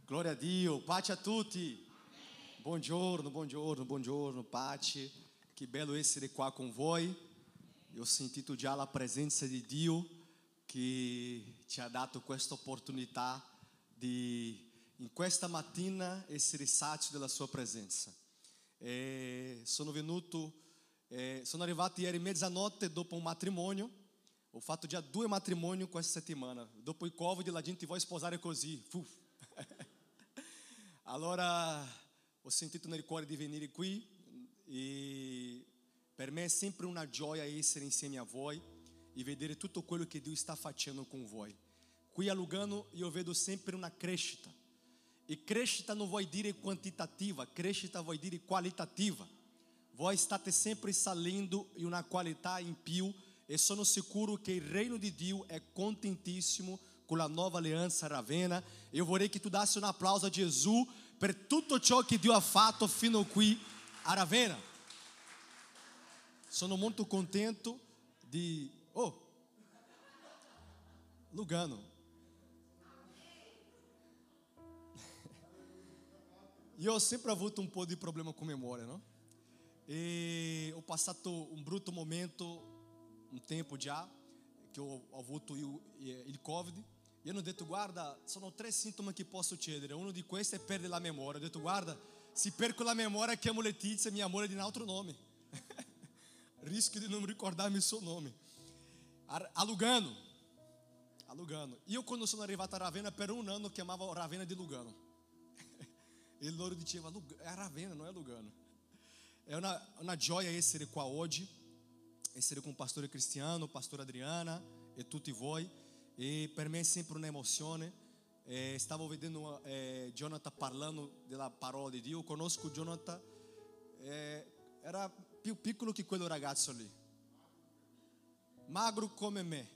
Glória a Dio, pace a tutti. Buongiorno, buongiorno, buongiorno, pace. Que bello essere qua con voi. Ho sentito già la presenza di Dio che ci ha dato questa opportunità di in questa mattina essere sazio della sua presenza. Sono arrivato ieri mezzanotte dopo un matrimonio. Ho fatto già 2 matrimoni questa settimana. Dopo il Covid la gente vuole sposare così. Allora ho sentito nel cuore di venire qui e per me è sempre una gioia essere insieme a voi e vedere tutto quello che Dio sta facendo con voi. Qui a Lugano io vedo sempre una crescita. E crescita non vuol dire quantitativa, crescita vuol dire qualitativa. Voi state sempre salendo in una qualità in più e sono sicuro che il reino di Dio è contentissimo con la nuova alleanza Ravenna. Eu vorrei che tu dassi un applauso a Gesù per tutto ciò che Dio ha fatto fino qui a Ravenna. Sono molto contento di Lugano. Io ho sempre avuto un po' di problema con memoria, no? E ho passato un brutto momento un tempo già che ho avuto il Covid. E hanno detto: guarda, sono 3 sintomi che posso succedere. Uno di questi è perdere la memoria. Ho detto: guarda, se perco la memoria chiamo Letizia, mia moglie, di un altro nome. Rischio di non ricordarmi il suo nome. A Lugano. Io quando sono arrivato a Ravenna per un anno chiamavo Ravenna di Lugano. E loro dicevano: è Ravenna, non è Lugano. È una gioia essere qua oggi, essere con il pastore Cristiano, pastor Adriana e tutti voi. E per me è sempre un'emozione. Stavo vedendo Jonathan parlando della parola di Dio. Conosco Jonathan, era più piccolo che quello ragazzo lì, magro come me.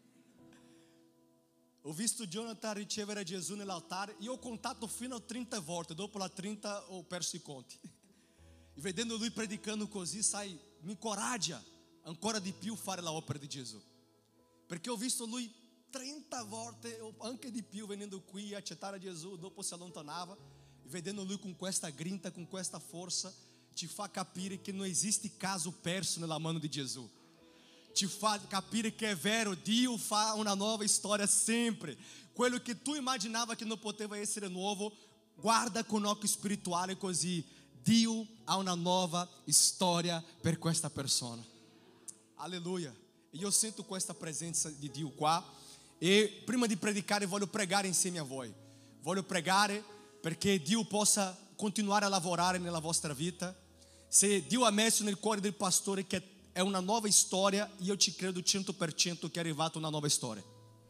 Ho visto Jonathan ricevere Gesù nell'altare. Io ho contato fino a 30 volte. Dopo la 30 ho perso i conti. E vedendo lui predicando così, sai, mi incoraggia ancora di più fare la opera di Gesù. Perché ho visto lui 30 volte o anche di più venendo qui a accettare Gesù, dopo si allontanava. E vedendo lui con questa grinta, con questa forza, ci fa capire che non esiste caso perso nella mano di Gesù. Ti fa capire che è vero, Dio fa una nuova storia sempre. Quello che tu immaginava che non poteva essere nuovo, guarda con occhio spirituale così. Dio ha una nuova storia per questa persona. Alleluia. Io sento questa presenza di Dio qua. E prima di predicare voglio pregare insieme a voi. Voglio pregare perché Dio possa continuare a lavorare nella vostra vita. Se Dio ha messo nel cuore del pastore che è una nuova storia, io ci credo 100% che è arrivata una nuova storia.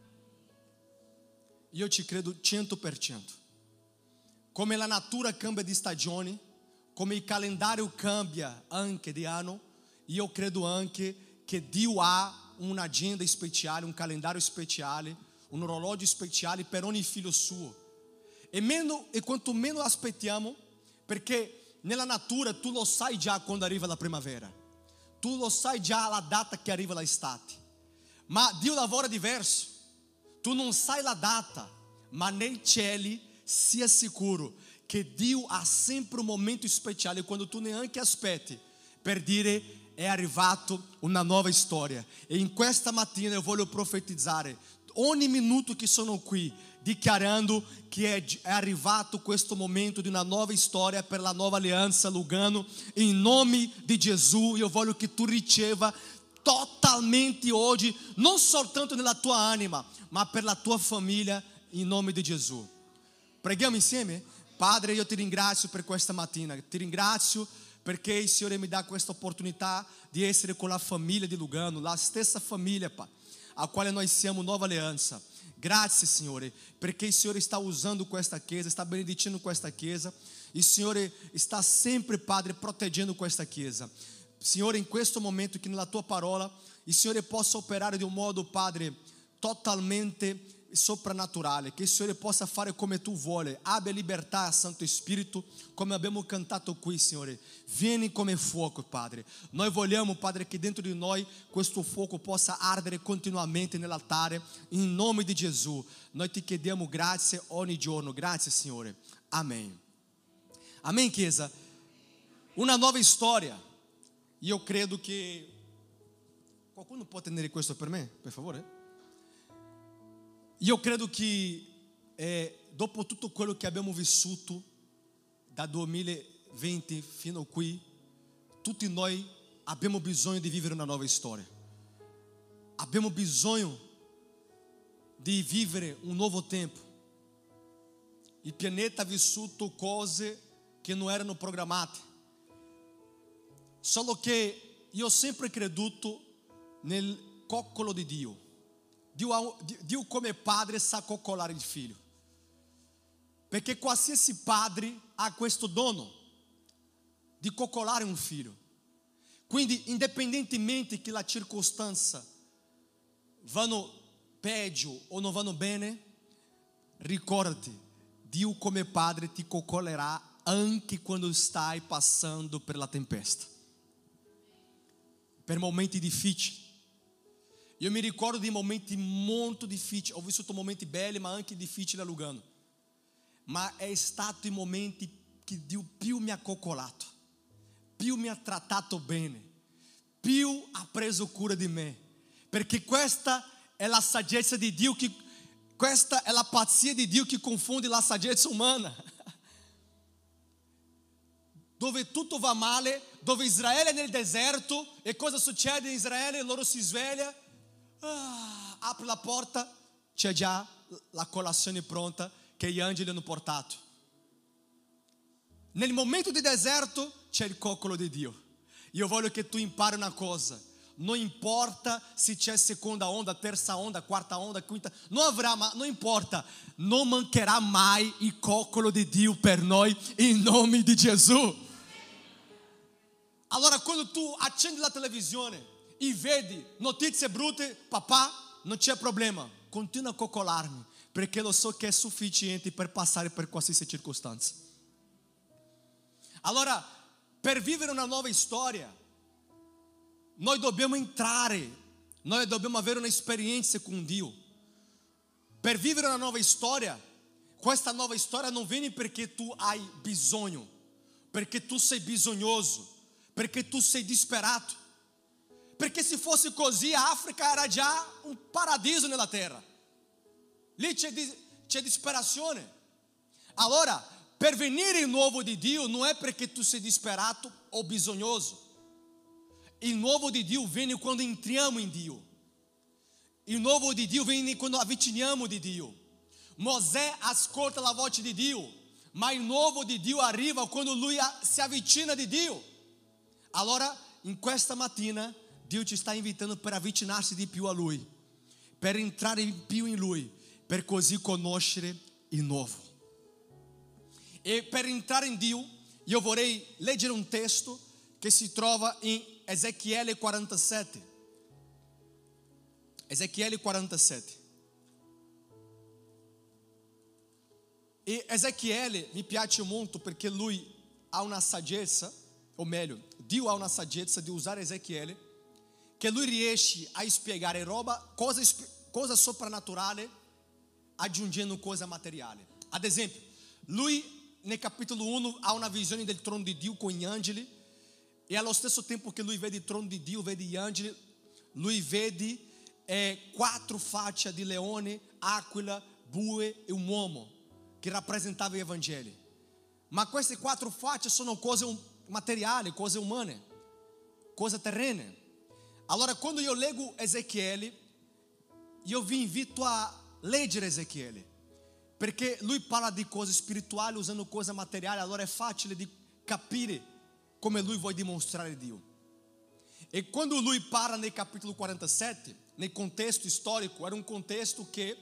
Io ci credo 100%. Come la natura cambia di stagione, come il calendario cambia anche di anno, io credo anche che Dio ha un'agenda speciale, un calendario speciale, un orologio speciale per ogni figlio suo. E quanto meno aspettiamo, perché nella natura tu lo sai già quando arriva la primavera. Tu lo sai già la data che arriva l'estate. Ma Dio lavora diverso. Tu non sai la data, ma nei cieli sia sicuro che Dio ha sempre un momento speciale quando tu neanche aspetti per dire: è arrivato una nuova storia. E in questa mattina io voglio profetizzare ogni minuto che sono qui, dichiarando che è arrivato questo momento di una nuova storia per la nuova alleanza Lugano. In nome di Gesù io voglio che tu riceva totalmente oggi, non soltanto nella tua anima, ma per la tua famiglia, in nome di Gesù. Preghiamo insieme? Padre, io ti ringrazio per questa mattina. Ti ringrazio perché il Signore mi dà questa opportunità di essere con la famiglia di Lugano, la stessa famiglia, a quale noi siamo nuova alleanza. Grazie, Signore, perché il Signore sta usando questa chiesa, sta benedicendo questa chiesa. Il Signore sta sempre, Padre, proteggendo questa chiesa. Signore, in questo momento che nella tua parola il Signore possa operare di un modo, Padre, totalmente soprannaturale, che il Signore possa fare come tu vuole. Abbia libertà, Santo Spirito, come abbiamo cantato qui, Signore. Vieni come fuoco, Padre. Noi vogliamo, Padre, che dentro di noi questo fuoco possa ardere continuamente nell'altare, in nome di Gesù. Noi ti chiediamo grazie ogni giorno. Grazie, Signore. Amen. Amen, Chiesa. Una nuova storia. Io credo che qualcuno può tenere questo per me, per favore? Io credo che dopo tutto quello che abbiamo vissuto da 2020 fino a qui, tutti noi abbiamo bisogno di vivere una nuova storia. Abbiamo bisogno di vivere un nuovo tempo. Il pianeta ha vissuto cose che non erano programmate. Solo che io ho sempre creduto nel coccolo di Dio. Dio come padre sa coccolare il figlio, perché qualsiasi padre ha questo dono di coccolare un figlio. Quindi, indipendentemente che la circostanza vanno peggio o non vanno bene, ricordati, Dio come padre ti coccolerà anche quando stai passando per la tempesta, per momenti difficili. Io mi ricordo di momenti molto difficili, ho vissuto momenti belli ma anche difficili a Lugano, ma è stato i momenti che Dio più mi ha coccolato, più mi ha trattato bene, più ha preso cura di me, perché questa è la saggezza di Dio, questa è la pazzia di Dio che confonde la saggezza umana. Dove tutto va male, dove Israele è nel deserto, e cosa succede in Israele? Loro si sveglia, apre la porta, c'è già la colazione pronta che gli angeli hanno portato. Nel momento di deserto c'è il coccolo di Dio. Io voglio che tu impari una cosa: non importa se c'è seconda onda, terza onda, quarta onda, quinta, non importa, non mancherà mai il coccolo di Dio per noi, in nome di Gesù. Allora, quando tu accendi la televisione e vedi notizie brutte, papà, non c'è problema, continua a coccolarmi, perché lo so che è sufficiente per passare per qualsiasi circostanza. Allora, per vivere una nuova storia, noi dobbiamo entrare, noi dobbiamo avere un'esperienza con Dio. Per vivere una nuova storia, questa nuova storia non viene perché tu hai bisogno, perché tu sei bisognoso, perché tu sei disperato. Perché se fosse così, a Africa era già un paradiso nella terra. Lì c'è disperazione. Allora, per venire il nuovo di Dio non è perché tu sei disperato o bisognoso. Il nuovo di Dio viene quando entriamo in Dio. Il nuovo di Dio viene quando avviciniamo di Dio. Mosè ascolta la voce di Dio, ma il nuovo di Dio arriva quando lui si avvicina di Dio. Allora, in questa mattina, Dio ci sta invitando per avvicinarsi di più a Lui, per entrare in più in Lui, per così conoscere il nuovo. E per entrare in Dio, io vorrei leggere un testo che si trova in Ezechiele 47. Ezechiele 47. E Ezechiele mi piace molto perché lui ha una saggezza, o meglio, Dio ha una saggezza di usare Ezechiele, che lui riesce a spiegare cosa soprannaturale aggiungendo cosa materiale. Ad esempio, lui nel capitolo 1 ha una visione del trono di Dio con gli angeli, e allo stesso tempo che lui vede il trono di Dio, vede gli angeli, lui vede 4 facce di leone, aquila, bue e un uomo, che rappresentava gli Evangeli. Ma queste 4 facce sono cose materiali, cose umane, cose terrene. Allora, quando io leggo Ezechiele, io vi invito a leggere Ezechiele, perché lui parla di cose spirituali usando cose materiali. Allora è facile di capire come lui vuole dimostrare Dio. E quando lui parla nel capitolo 47, nel contesto storico, era un contesto che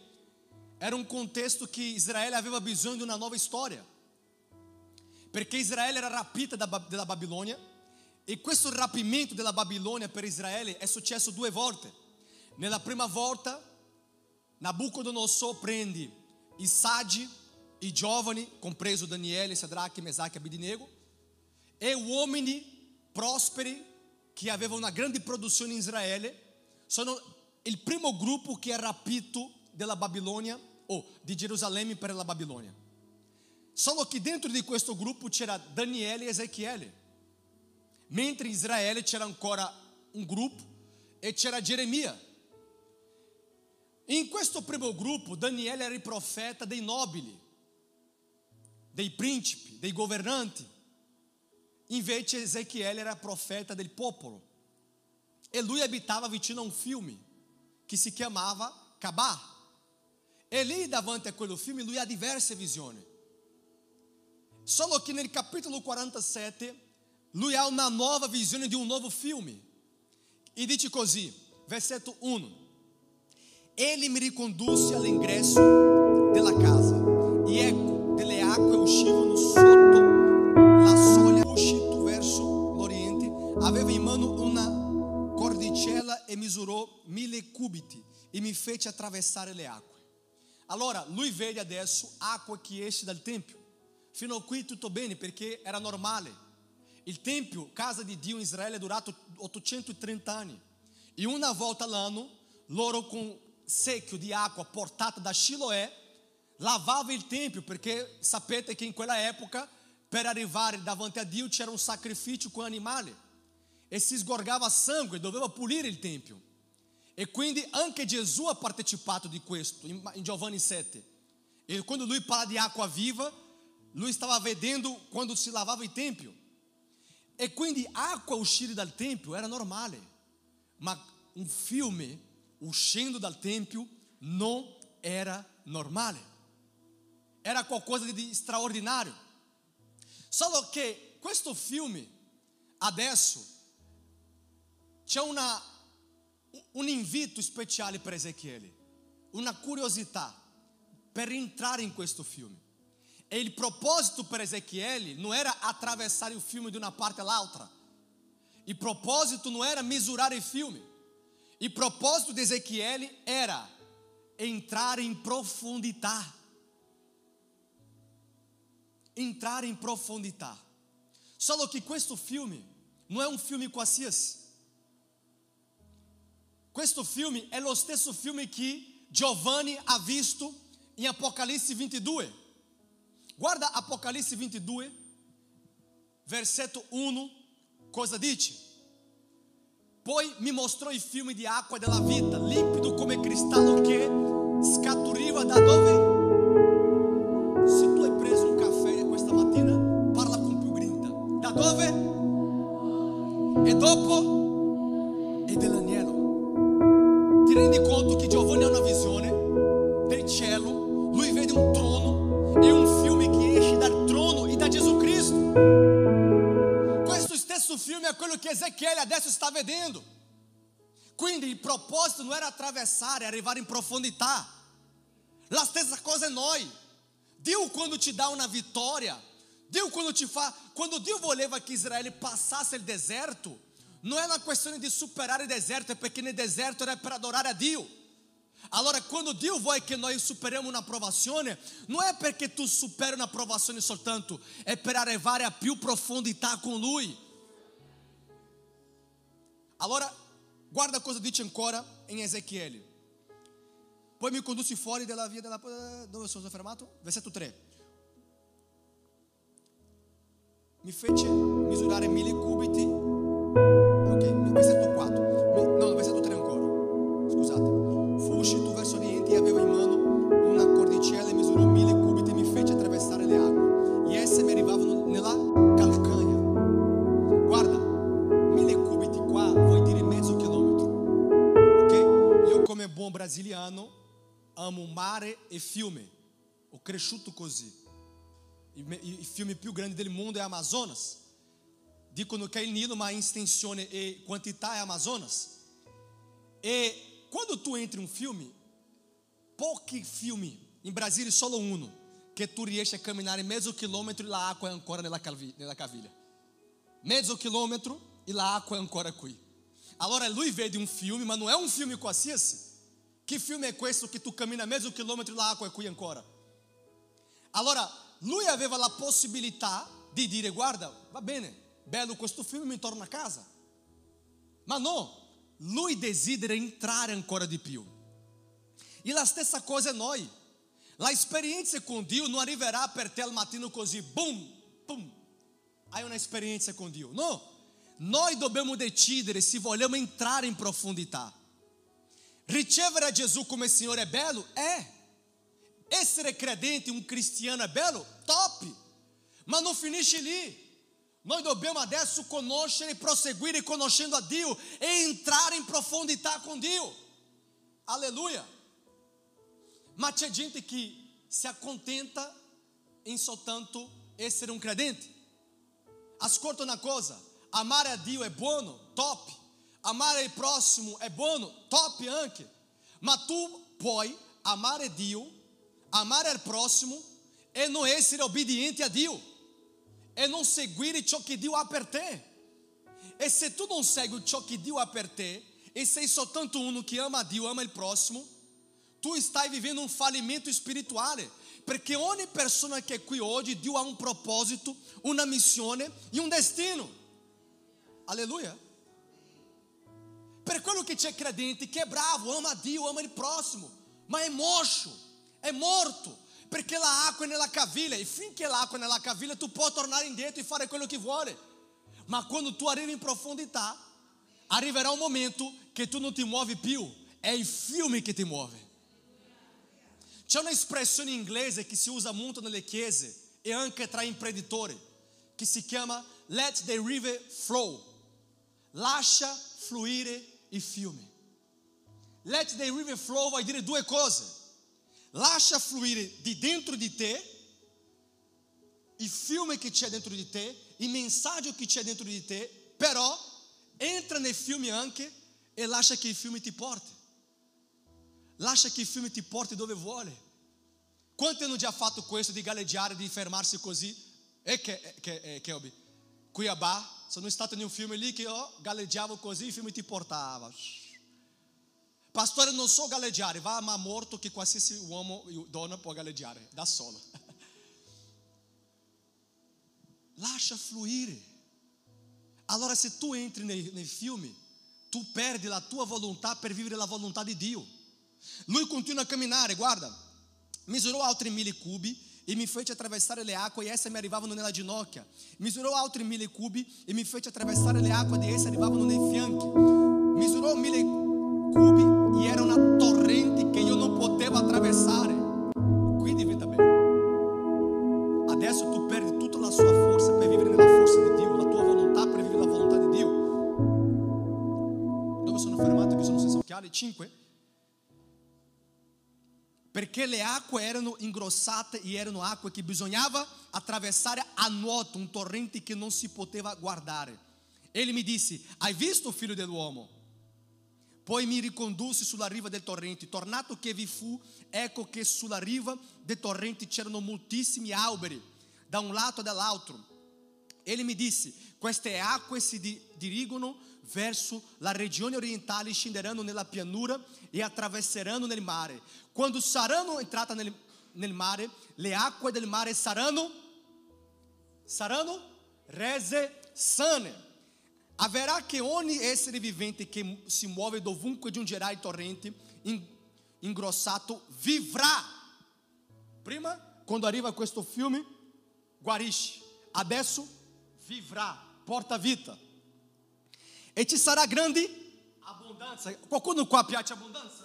Israele aveva bisogno di una nuova storia, perché Israele era rapita dalla Babilonia. E questo rapimento della Babilonia per Israele è successo 2 volte. Nella prima volta Nabucodonosor prende Isade e giovani, compreso Daniele, Sadraque, Mesaque e Abednego, e uomini prosperi che avevano una grande produzione in Israele. Sono il primo gruppo che è rapito della Babilonia o di Gerusalemme per la Babilonia. Solo che dentro di questo gruppo c'era Daniele e Ezechiele, mentre in Israele c'era ancora un gruppo e c'era Geremia. In questo primo gruppo Daniele era il profeta dei nobili, dei principi, dei governanti. Invece Ezechiele era profeta del popolo. E lui abitava vicino a un fiume che si chiamava Cabà. E lì davanti a quello fiume lui ha diverse visioni. Solo che nel capitolo 47 lui ha una nuova visione di un nuovo fiume. E dice così, versetto 1: Ele me ricondusse all'ingresso della casa, e ecco, delle acque uscivano sotto la soglia, uscito verso l'oriente, aveva in mano una cordicella e misurò 1000 cubiti e mi fece attraversare le acque. Allora lui vede adesso acqua che esce dal tempio. Fino a qui tutto bene, perché era normale. Il tempio, casa di Dio in Israele, è durato 830 anni. E una volta all'anno loro con secchio di acqua portata da Shiloé lavava il tempio, perché sapete che in quella epoca per arrivare davanti a Dio c'era un sacrificio con animali e si sgorgava sangue, doveva pulire il tempio. E quindi anche Gesù ha partecipato di questo in Giovanni 7. E quando lui parla di acqua viva, lui stava vedendo quando si lavava il tempio. E quindi acqua uscire dal tempio era normale, ma un fiume uscendo dal tempio non era normale, era qualcosa di straordinario. Solo che questo fiume adesso c'è un invito speciale per Ezechiele, una curiosità per entrare in questo fiume. E il proposito per Ezechiele non era attraversare il fiume di una parte all'altra. Il proposito non era misurare il fiume. Il proposito di Ezechiele era entrare in profondità. Entrare in profondità. Solo che questo fiume non è un fiume qualsiasi. Questo fiume è lo stesso fiume che Giovanni ha visto in Apocalisse 22. Guarda Apocalisse 22, versetto 1, cosa dice? Poi mi mostrò il fiume di acqua della vita, limpido come cristallo, che scaturiva da dove? Se tu hai preso un caffè questa mattina, parla con più grinta. Da dove? E dopo? E dell'agnello. Ti rendi conto che Giovanni ha una visione del cielo? Lui vede un trono e un fiume che esce dal trono e da Gesù Cristo. Questo stesso fiume è quello che Ezechiele adesso sta vedendo. Quindi il proposito non era attraversare, arrivare in profondità. La stessa cosa è noi. Dio quando ti dà una vittoria, Dio quando Dio voleva che Israele passasse il deserto, non è una questione di superare il deserto, perché nel deserto era per adorare a Dio. Allora quando Dio vuole che noi superiamo una provazione, non è perché tu superi una provazione soltanto, è per arrivare a più profondità con Lui. Allora guarda cosa dice ancora in Ezechiele. Poi mi conduci fuori della via della... Dove sono fermato? Versetto 3. Mi fece misurare 1000 cubiti. Ok, versetto 4. No, versetto 3 ancora. Scusate. Fu uscito verso oriente e aveva in mano una cordicella e misurò 1000 cubiti e mi fece attraversare le acque. E esse mi arrivavano nella calcagna. Guarda, 1000 cubiti qua vuol dire mezzo chilometro. Ok? Io come buon brasiliano amo mare e fiume. Ho cresciuto così. Il fiume più grande del mondo è Amazonas. Dicono che è il Nilo, ma in estensione e quantità è Amazonas. E quando tu entri in un fiume, pochi fiumi, in Brasília solo uno, che tu riesci a camminare mezzo chilometro e l'acqua è ancora nella caviglia. Mezzo chilometro e l'acqua è ancora qui. Allora lui vede un fiume, ma non è un fiume qualsiasi. Che filme è questo che tu cammina mezzo chilometro l'acqua e qui ancora? Allora, lui aveva la possibilità di dire: guarda, va bene, bello questo film, mi torno a casa. Ma no, lui desidera entrare ancora di più. E la stessa cosa è noi. La esperienza con Dio non arriverà per te al mattino così, boom, boom, hai una esperienza con Dio. No, noi dobbiamo decidere se vogliamo entrare in profondità. Ricevere a Gesù come Signore è bello? È. Essere credente, un cristiano è bello? Top! Ma non finisce lì. Noi dobbiamo adesso conoscere e proseguire conoscendo a Dio e entrare in profondità con Dio. Alleluia! Ma c'è gente che si accontenta em soltanto essere un credente. Ascolta una cosa: amare a Dio è buono, top. Amare il prossimo è buono, top anche. Ma tu puoi amare Dio, amare il prossimo e non essere obbediente a Dio, e non seguire ciò che Dio ha per te. E se tu non segui ciò che Dio ha per te e sei soltanto uno che ama a Dio, ama il prossimo, tu stai vivendo un fallimento spirituale, perché ogni persona che è qui oggi, Dio ha un proposito, una missione e un destino. Alleluia. Per quello che c'è credente che è bravo, ama Dio, ama il prossimo, ma è moscio, è morto, perché l'acqua è nella caviglia, e finché l'acqua è nella caviglia tu puoi tornare indietro e fare quello che vuole. Ma quando tu arrivi in profondità, arriverà un momento che tu non ti muovi più, è il fiume che ti muove. C'è una espressione inglese che si usa molto nelle chiese e anche tra imprenditori, che si chiama let the river flow. Lascia fluire il fiume. Let the river flow vuol dire due cose: lascia fluire di dentro di te il fiume che c'è dentro di te, il messaggio che c'è dentro di te, però entra nel fiume anche e lascia che il fiume ti porti. Lascia che il fiume ti porti dove vuole. Quanti hanno già fatto questo di galleggiare, di fermarsi così? E che hobby? Cuiabá, sono stato in un fiume lì che io galleggiavo così, il fiume ti portava. Pastore, non so galleggiare. Va a mar morto che qualsiasi uomo e donna può galleggiare da solo. Lascia fluire. Allora se tu entri nei fiumi, tu perdi la tua volontà per vivere la volontà di Dio. Lui continua a camminare, guarda, misurò altri 1000 cubi e mi fece attraversare le acque e esse mi arrivavano nella ginocchia. Misurò altri 1000 cubi e mi fece attraversare le acque e esse arrivavano nei fianchi. Misurò 1000 cubi e era una torrente che io non potevo attraversare. Qui diventa bello. Adesso tu perdi tutta la sua forza per vivere nella forza di Dio, la tua volontà per vivere la volontà di Dio. Dove sono fermato? Che sono senza occhiali? 5. Perché le acque erano ingrossate e erano acque che bisognava attraversare a nuoto, un torrente che non si poteva guardare. Ele mi disse: hai visto, figlio dell'uomo? Poi mi ricondusse sulla riva del torrente. Tornato che vi fu, ecco che sulla riva del torrente c'erano moltissimi alberi, da un lato e dall'altro. Ele mi disse: queste acque si dirigono verso la regione orientale, scenderanno nella pianura e attraverseranno nel mare. Quando saranno entrate nel mare, le acque del mare saranno rese sane. Haverá che ogni essere vivente che si muove dovunque giungerà il torrente ingrossato vivrà. Prima, quando arriva questo fiume, guarisce. Adesso vivrà, porta vita. E ci sarà grande abbondanza. Qualcuno qua piace abbondanza?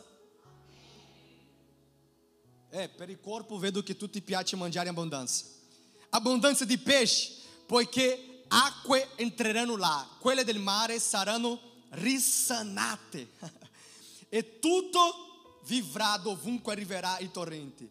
Per il corpo vedo che tutti piace mangiare abbondanza. Abbondanza di pesce, poiché acque entreranno là, quelle del mare saranno risanate. E tutto vivrà dovunque arriverà il torrente.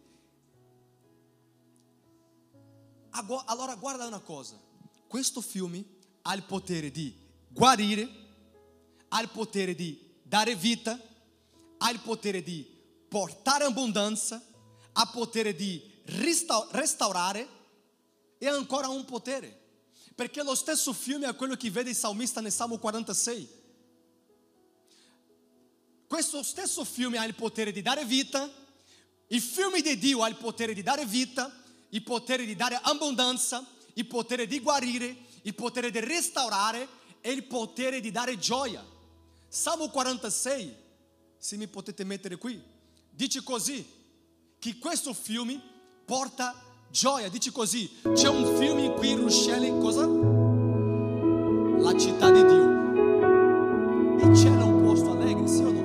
Allora guarda una cosa, questo fiume ha il potere di guarire, ha il potere di dare vita, ha il potere di portare abbondanza, ha potere di restaurare e ancora un potere, perché lo stesso fiume è quello che vede il salmista nel Salmo 46. questo stesso filme ha il potere di dare vita, il filme di Dio ha il potere di dare vita, il potere di dare abbondanza, il potere di guarire, il potere di restaurare e il potere di dare gioia. Salmo 46, se mi potete mettere qui, dice così, che questo filme porta gioia, dice così, c'è un film in cui Ruscelli, cosa? La città di Dio. E c'era un posto allegre, sì o no?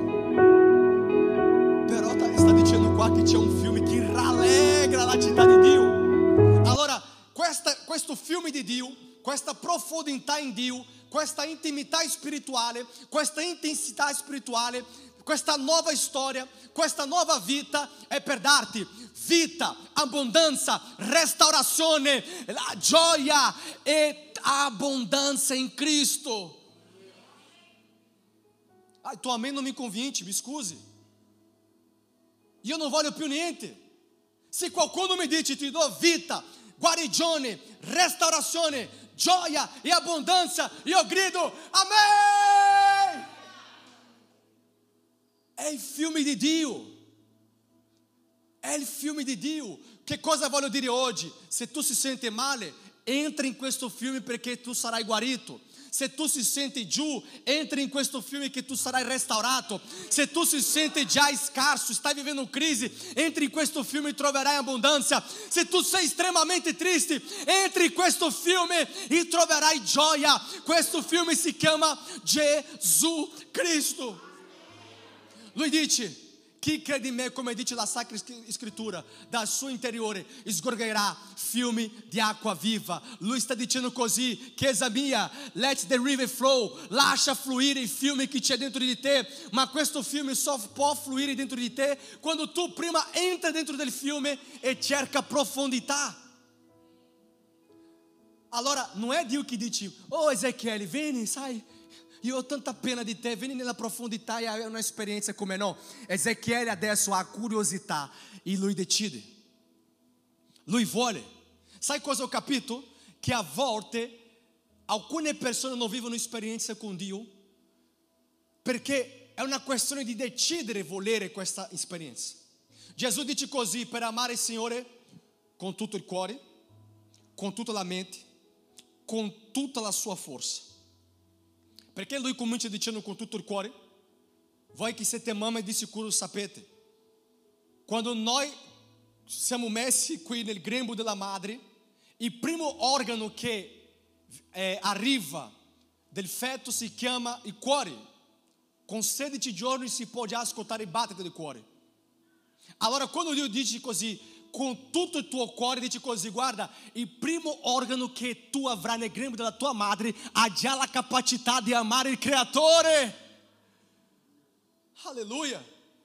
Però sta dicendo qua che c'è un film che rallegra la città di Dio. Allora, questo film di Dio, questa profondità in Dio, questa intimità spirituale, questa intensità spirituale, questa nuova storia, questa nuova vita è per darti vita, abbondanza, restaurazione, la gioia e abbondanza in Cristo. Ah, tu amen non mi convince, mi scusi. Io non voglio più niente. Se qualcuno mi dice ti do vita, guarigione, restaurazione, gioia e abbondanza, io grido amen. È il fiume di Dio. È il fiume di Dio. Che cosa voglio dire oggi? Se tu si senti male, entra in questo fiume perché tu sarai guarito. Se tu si senti giù, entra in questo fiume che tu sarai restaurato. Se tu si senti già scarso, stai vivendo crisi, entri in questo fiume e troverai abbondanza. Se tu sei estremamente triste, entri in questo fiume e troverai gioia. Questo fiume si chiama Gesù Cristo. Lui dice: chi crede in me, come dice la Sacra Scrittura, dal suo interiore sgorgerà fiumi di acqua viva. Lui sta dicendo così: chiesa mia, let the river flow, lascia fluire il fiume che c'è dentro di te. Ma questo fiume só può fluire dentro di te quando tu prima entra dentro del fiume e cerca profondità. Allora non è Dio che dice: oh Ezechiele, vieni, sai, io ho tanta pena di te, vieni nella profondità e hai un'esperienza come no. Ezechiele adesso ha curiosità e lui decide, lui vuole. Sai cosa ho capito? Che a volte alcune persone non vivono esperienza con Dio perché è una questione di decidere volere questa esperienza. Gesù dice così: per amare il Signore con tutto il cuore, con tutta la mente, con tutta la sua forza. Perché lui comincia dicendo con tutto il cuore? Voi che siete mamma di sicuro sapete, quando noi siamo messi qui nel grembo della madre, il primo organo che arriva del feto si chiama il cuore. Con 16 giorni si può già ascoltare il battito del cuore. Allora quando Dio dice così, con tutto il tuo cuore, dice così: guarda, il primo organo che tu avrai nel grembo della tua madre ha già la capacità di amare il Creatore. Alleluia,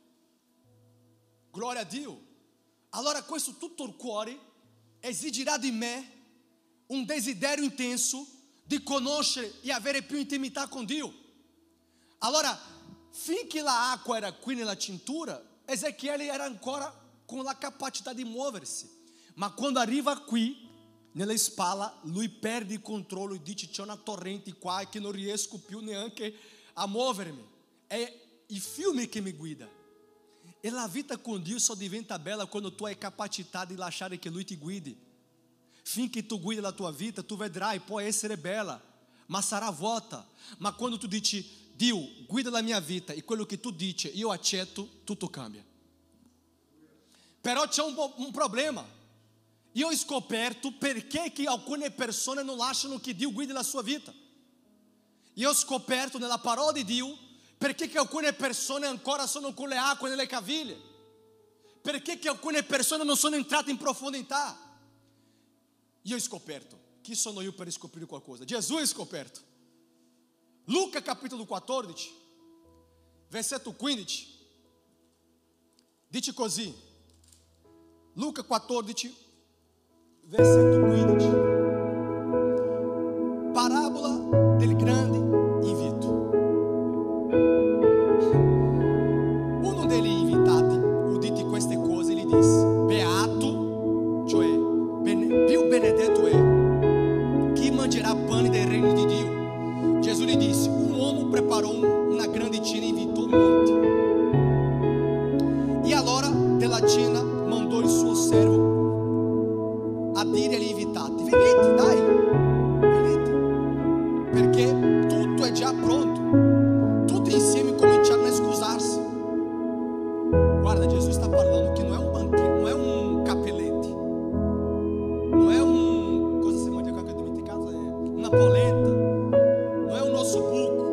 gloria a Dio. Allora questo tutto il cuore esigirà di me un desiderio intenso di conoscere e avere più intimità con Dio. Allora, finché l'acqua era qui nella cintura, Ezechiele era ancora con la capacità di muoversi, ma quando arriva qui nella spalla lui perde il controllo e dice: c'è una torrente qua che non riesco più neanche a muovermi, è il fiume che mi guida. E la vita con Dio só diventa bella quando tu hai capacità di lasciare che Lui ti guidi. Finché tu guidi la tua vita, tu vedrai, può essere bella, ma sarà vuota. Ma quando tu dici: Dio, guida la mia vita, e quello che tu dici io accetto, tutto cambia. Però c'è un problema. Io ho scoperto perché che alcune persone non lasciano che Dio guidi la sua vita. Io ho scoperto nella parola di Dio perché che alcune persone ancora sono con le acque nelle caviglie, perché che alcune persone non sono entrate in profondità. Io ho scoperto. Chi sono io per scoprire qualcosa? Gesù ha scoperto. Luca capitolo 14 versetto 15 dice così. Luca 14 versetto 15, parabola del grande invito. Uno degli invitati, uditi queste cose, gli disse: beato, cioè più benedetto è chi mangerà pane del regno di Dio. Gesù gli disse: un uomo preparò una grande cena e invitò molti. invitate, venite, dai, venite, perché tutto è già pronto. Tutti insieme cominciarono a scusarsi. Guarda, Gesù sta parlando che non è un banquete, non è un capelete, non è un, cosa si mangia qua che ho dimenticato, è una polenta, non è un ossobuco,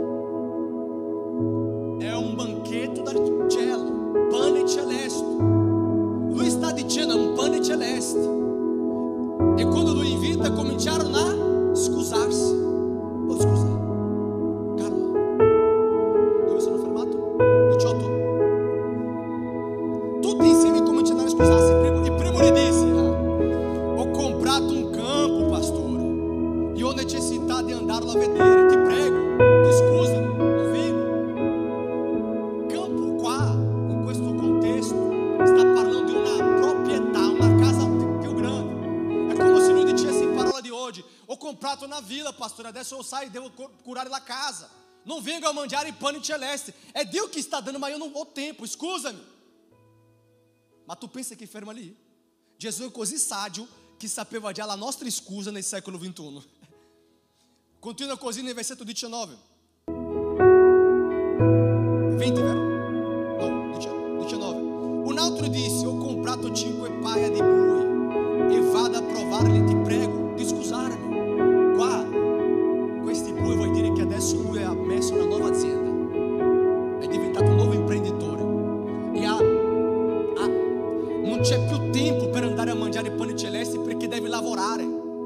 è un banchetto dal cielo, pane celeste. Lui sta dicendo è un pane celeste. E quando lui invita cominciarono a scusarsi. Oh, scusa, calma, dove sono fermato? 18. Tutti insieme cominciarono a scusarsi. Il primo gli disse: ho comprato un campo, pastore, e ho necessità di andarlo a vedere. Ti prego, ti scusa, non vengo. Campo qua, in questo contesto, sta parlando di una proprietà, una casa più grande. È come se lui dicesse in parola di oggi: ho comprato una villa, pastore, adesso eu saio, devo curare la casa. Non vengo a mangiare i pani celesti. É Deus que está dando, mas eu não ho tempo, scusa-me. Ma tu pensa che ferma lì? Gesù è così saggio che sapeva già la nostra scusa nel secolo XXI. Continua così nel versetto 19. 20, vero? No, 19. Un altro disse: ho comprato 5 paia di bui e vado a provarli, ti prego di scusarmi. Qua, questi bui vuol dire che adesso lui ha messo una nuova azienda, è diventato un nuovo imprenditore e non c'è più tempo per andare a mangiare i pani celesti perché deve lavorare.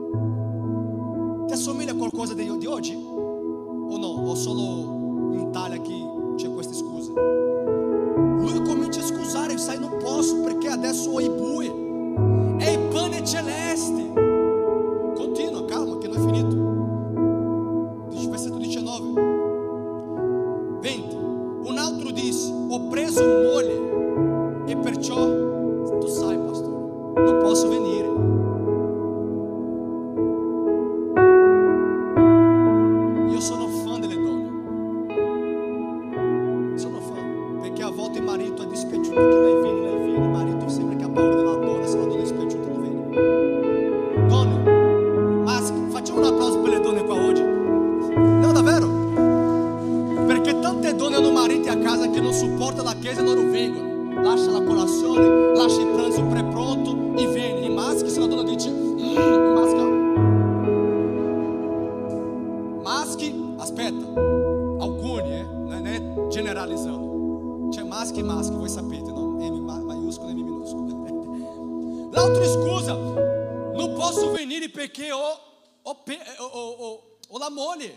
Ti assomiglia a qualcosa di oggi? O no? O solo in Italia che c'è queste scuse? Lui comincia a scusare e sai, non posso perché adesso ho i bui e i pani celesti. Continua, calma che non è finito. Versetto 19. 20. Un altro disse: ho preso moglie e perciò tu sai, pastore, non posso venire. Io sono fan delle donne, sono fan, perché a volte il marito è dispiaciuto che lei viene, il marito sembra che ha paura della donna, se la donna è dispiaciuta non viene. Donne, maschi, facciamo un applauso per le donne qua oggi. No, davvero, perché tante donne hanno mariti a casa che non supportano la chiesa e loro vengono. Lascia la colazione, lascia il pranzo pre-pronto e vieni. I maschi, se la donna dice maschi, aspetta, alcuni, non è generalizzando, c'è maschi e maschi, voi sapete, no? M maiuscolo e M minuscolo. L'altro scusa: non posso venire perché ho la moglie.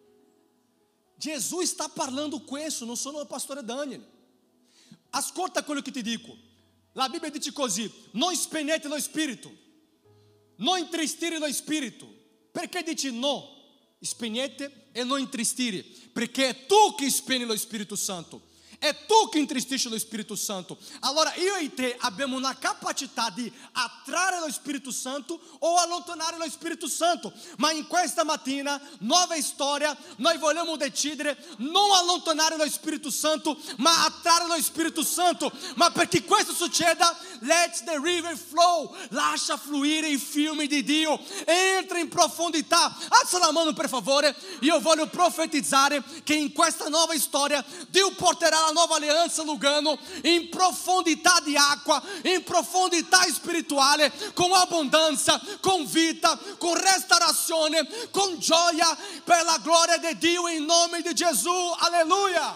Gesù sta parlando questo, non sono il pastore Daniel. Ascolta quello che ti dico. La Bibbia dice così: non spegnete lo spirito, non intristire lo spirito. Perché dici no? Spegnete e non intristire, perché è tu che spegni lo Spirito Santo. È tu che intristisci lo Spirito Santo. Allora io e te abbiamo una capacità di attrarre lo Spirito Santo o allontanare lo Spirito Santo. Ma in questa mattina, nuova storia, noi vogliamo decidere non allontanare lo Spirito Santo, ma attrarre lo Spirito Santo. Ma perché questo succeda, let the river flow, lascia fluire i fiumi di Dio, entra in profondità. Alza la mano per favore. Io voglio profetizzare che in questa nuova storia Dio porterà la nuova alleanza Lugano in profondità di acqua, in profondità spirituale, con abbondanza, con vita, con restaurazione, con gioia per la gloria di Dio in nome di Gesù. Alleluia,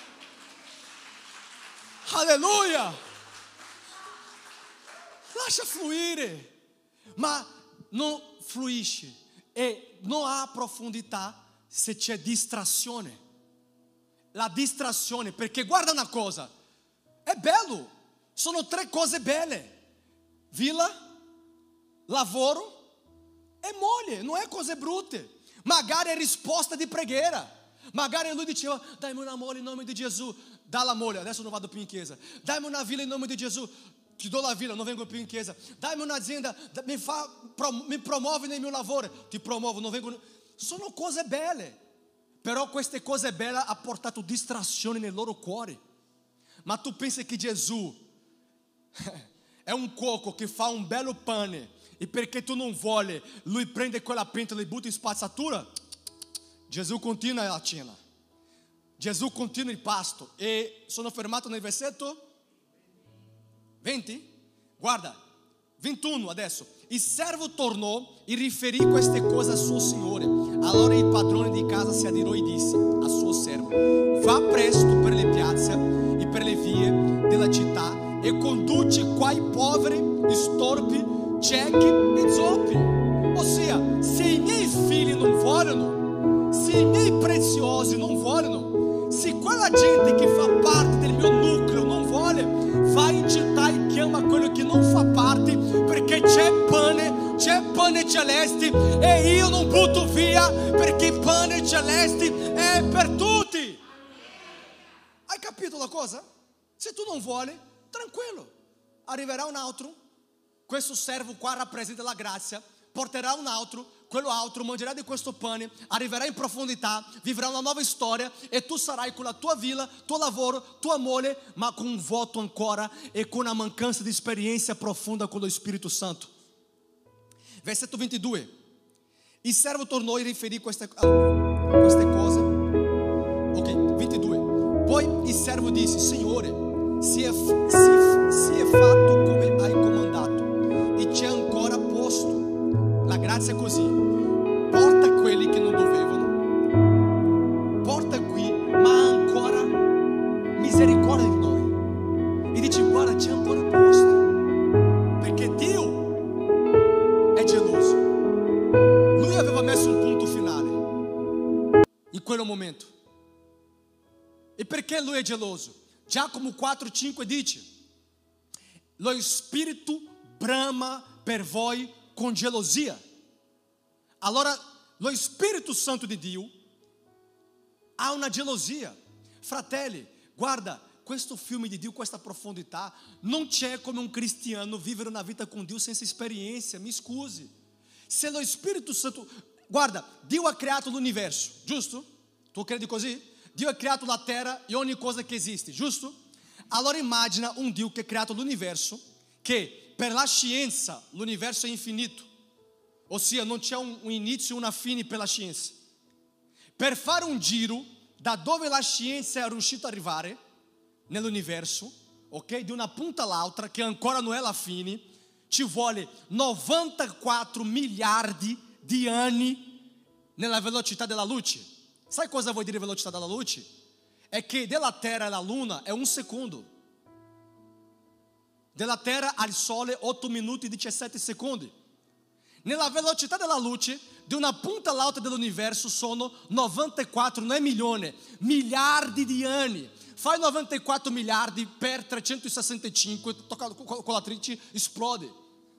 alleluia. Lascia fluire, ma non fluisce e non ha profondità se c'è distrazione. La distrazione, perché guarda una cosa, è bello, sono 3 cose belle: villa, lavoro e moglie, non è cose brutte. Magari è risposta di preghiera, magari lui diceva: dammi una moglie in nome di Gesù, dà la moglie, adesso non vado più in chiesa. Dammi una villa in nome di Gesù, ti do la villa, non vengo più in chiesa. Dammi un'azienda, mi promuovi nel mio lavoro, ti promuovo, non vengo. Sono cose belle. Però queste cose belle ha portato distrazioni nel loro cuore. Ma tu pensi che Gesù è un cuoco che fa un bello pane e perché tu non vuole, lui prende quella pentola e butta in spazzatura. Gesù continua la cena, Gesù continua il pasto. E sono fermato nel versetto 20, guarda, 21 adesso. Il servo tornò e riferì queste cose al suo signore. Allora il padrone di casa si adirò e disse al suo servo: va presto per le piazze e per le vie della città e conduci quai poveri, storpi, ciechi e zoppi. Ossia, se i miei figli non vogliono, se i miei preziosi non vogliono, se quella gente che fa parte del mio nucleo non vuole, vai in città e chiama quello che non fa parte, perché c'è pane celeste e io non butto via, perché il pane celeste è per tutti. Hai capito la cosa? Se tu non vuoi, tranquillo, arriverà un altro. Questo servo qua rappresenta la grazia, porterà un altro, quello altro mangerà di questo pane, arriverà in profondità, vivrà una nuova storia e tu sarai con la tua villa, tuo lavoro, tua moglie, ma con un vuoto ancora e con una mancanza di esperienza profonda con lo Spirito Santo. Versetto 22. Il servo tornò e riferì queste cose. Ok, 22. Poi il servo disse: Signore, si è fatto come hai comandato e c'è ancora posto. La grazia è così: porta quelli che non dovevano, porta qui, ma ancora misericordia di noi. E dice: guarda, c'è ancora posto, perché Dio è geloso. Lui aveva messo un punto finale in quel momento. E perché lui è geloso? Giacomo 4,5 dice: lo Spirito brama per voi con gelosia. Allora lo Spirito Santo di Dio ha una gelosia. Fratelli, guarda, questo filme di Dio, questa profondità, non c'è come un cristiano vivere una vita con Dio senza esperienza. Mi scusi. Se lo Spirito Santo, guarda, Dio ha creato l'universo, giusto? Tu credi così? Dio ha creato la terra e ogni cosa che esiste, giusto? Allora immagina un Dio che ha creato l'universo, che per la scienza l'universo è infinito, ossia non c'è un inizio e una fine per la scienza. Per fare un giro da dove la scienza è riuscita ad arrivare nell'universo, ok, di una punta all'altra, che ancora non è la fine, ci vuole 94 miliardi di anni nella velocità della luce. Sai cosa vuol dire velocità della luce? È che dalla Terra alla Luna è un secondo, della Terra al Sole 8 minuti e 17 secondi. Nella velocità della luce, di una punta all'altra dell'universo sono 94, non è milione, miliardi di anni. Fai 94 miliardi per 365, tocca con la trice, esplode.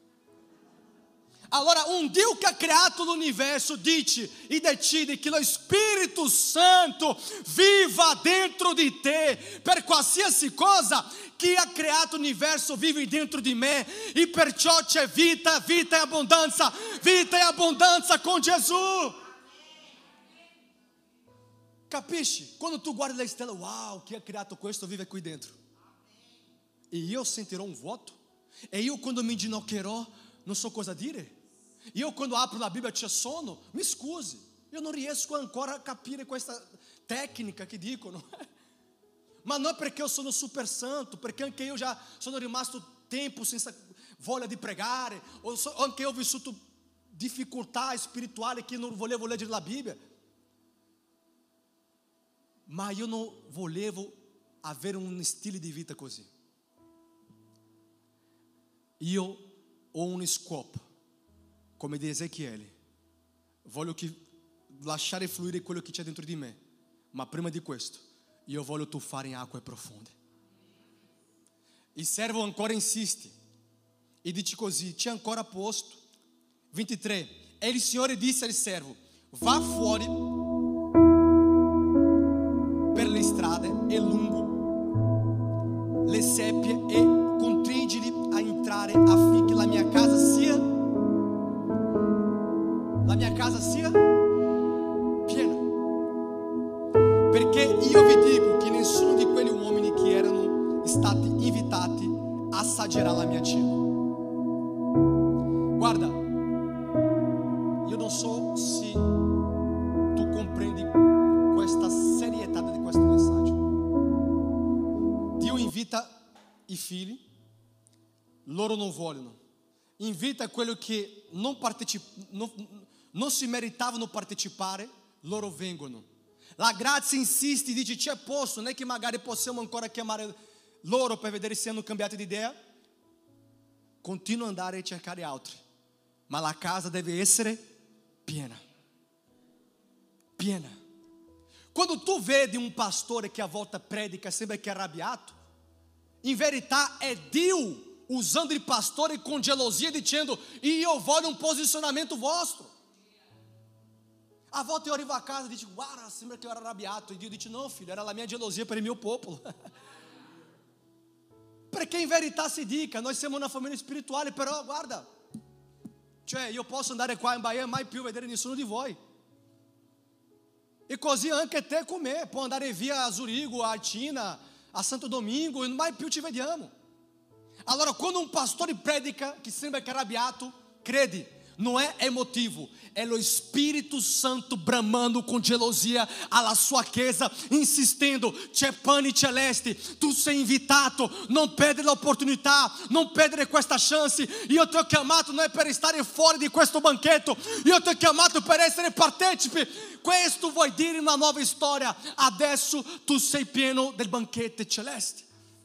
Allora un Dio che ha creato l'universo dice e decide che lo Spirito Santo viva dentro di te. Per qualsiasi cosa, chi ha creato l'universo vive dentro di me, e perciò c'è vita, vita e abbondanza con Gesù. Capisci? Quando tu guardi le stelle, wow, chi ha creato questo vive qui dentro. E io sentirò un vuoto. E io quando mi inginocchierò non so cosa dire. Io quando apro la Bibbia c'è sonno, mi scusi, io non riesco ancora a capire questa tecnica che dicono. Ma non è perché io sono super santo, perché anche io già sono rimasto tempo senza voglia di pregare, o anche io ho vissuto difficoltà spirituali che non volevo leggere la Bibbia. Ma io non volevo avere un stile di vita così. Io ho un scopo, come di Ezechiele. Voglio lasciare fluire quello che c'è dentro di me, ma prima di questo io voglio tuffare in acque profonde. Il servo ancora insiste e dice così: c'è ancora posto. 23. E il Signore disse al servo: va fuori per le strade e lungo le seppie e costringili a entrare affinché la mia casa sia piena. Perché io vi dico che nessuno di quegli uomini che erano stati invitati assaggerà la mia cena. Guarda, non so se tu comprendi questa serietà di questo messaggio. Dio invita i figli, loro non vogliono. Invita quelli che non si meritavano partecipare, loro vengono. La grazia insiste e dice: c'è posto, non è che magari possiamo ancora chiamare loro per vedere se hanno cambiato di idea. Continua ad andare a cercare altri, ma la casa deve essere piena. Piena. Quando tu vedi un pastore che a volta predica sembra che è arrabbiato, in verità è Dio usando il pastore con gelosia, dicendo: io voglio un posizionamento vostro. A volte eu arrivo a casa e dico: guarda, sembra che eu era arrabbiato. E Dio dice: no filho, era la mia gelosia per il mio popolo. Perché in verità si dica, noi siamo una famiglia spirituale, però guarda, cioè io posso andare qua in Bahia e mai più vedere nessuno di voi. E così anche te con me, può andare via a Zurigo, a Tina, a Santo Domingo e mai più ci vediamo. Allora quando un pastore predica che sembra che è arrabbiato, credi, não é emotivo, é o Espírito Santo bramando com gelosia alla sua chiesa, insistindo: c'è pane celeste, tu sei invitato, non perdere l'opportunità, non perdere questa chance. Io ti ho chiamato non è per stare fuori di questo banchetto, io ti ho chiamato per essere partecipe. Questo vuol dire una nuova storia. Adesso tu sei pieno del banquete celeste.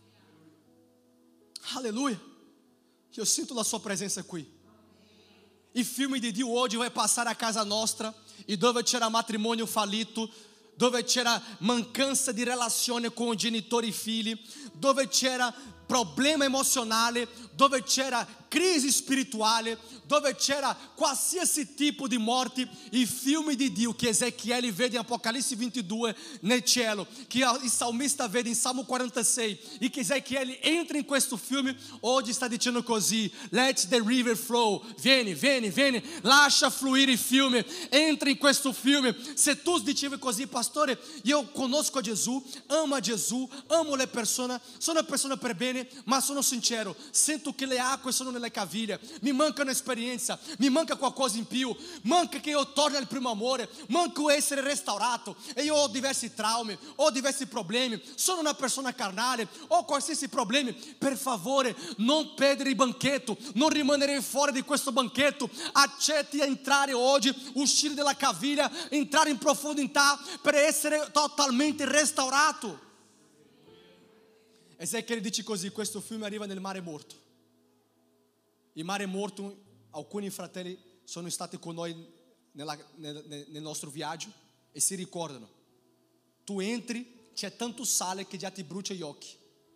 Alleluia. Io sento la sua presenza qui. Il filme di Dio oggi vai passare a casa nostra, e dove c'era matrimonio fallito, dove c'era mancanza di relazione con genitori e figli, dove c'era problema emozionale, dove c'era crisi spirituale, dove c'era qualsiasi tipo di morte, il filme di Dio che Ezechiele vede in Apocalisse 22 nel cielo, che il salmista vede in Salmo 46, e che Ezechiele entra in questo filme, oggi sta dicendo così: let the river flow, vieni, lascia fluire il fiume, entra in questo fiume. Se tu dicevi così: pastore, io conosco Gesù, amo le persone, sono una persona per bene, ma sono sincero, sento che le acque sono nelle caviglie, mi manca un'esperienza, mi manca qualcosa in più, manca che io torni al primo amore, manco essere restaurato, e io ho diversi traumi, ho diversi problemi, sono una persona carnale, ho qualsiasi problemi. Per favore, non perdere il banchetto, non rimanere fuori di questo banchetto, accetti a entrare oggi, uscire dalla caviglia, entrare in profondità per essere totalmente restaurato. Ezechiele dice così: questo fiume arriva nel Mare Morto. Il Mare Morto, alcuni fratelli sono stati con noi nel nostro viaggio e si ricordano. Tu entri, c'è tanto sale che già ti brucia gli occhi.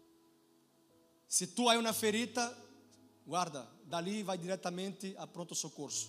Se tu hai una ferita, guarda, da lì vai direttamente a pronto soccorso.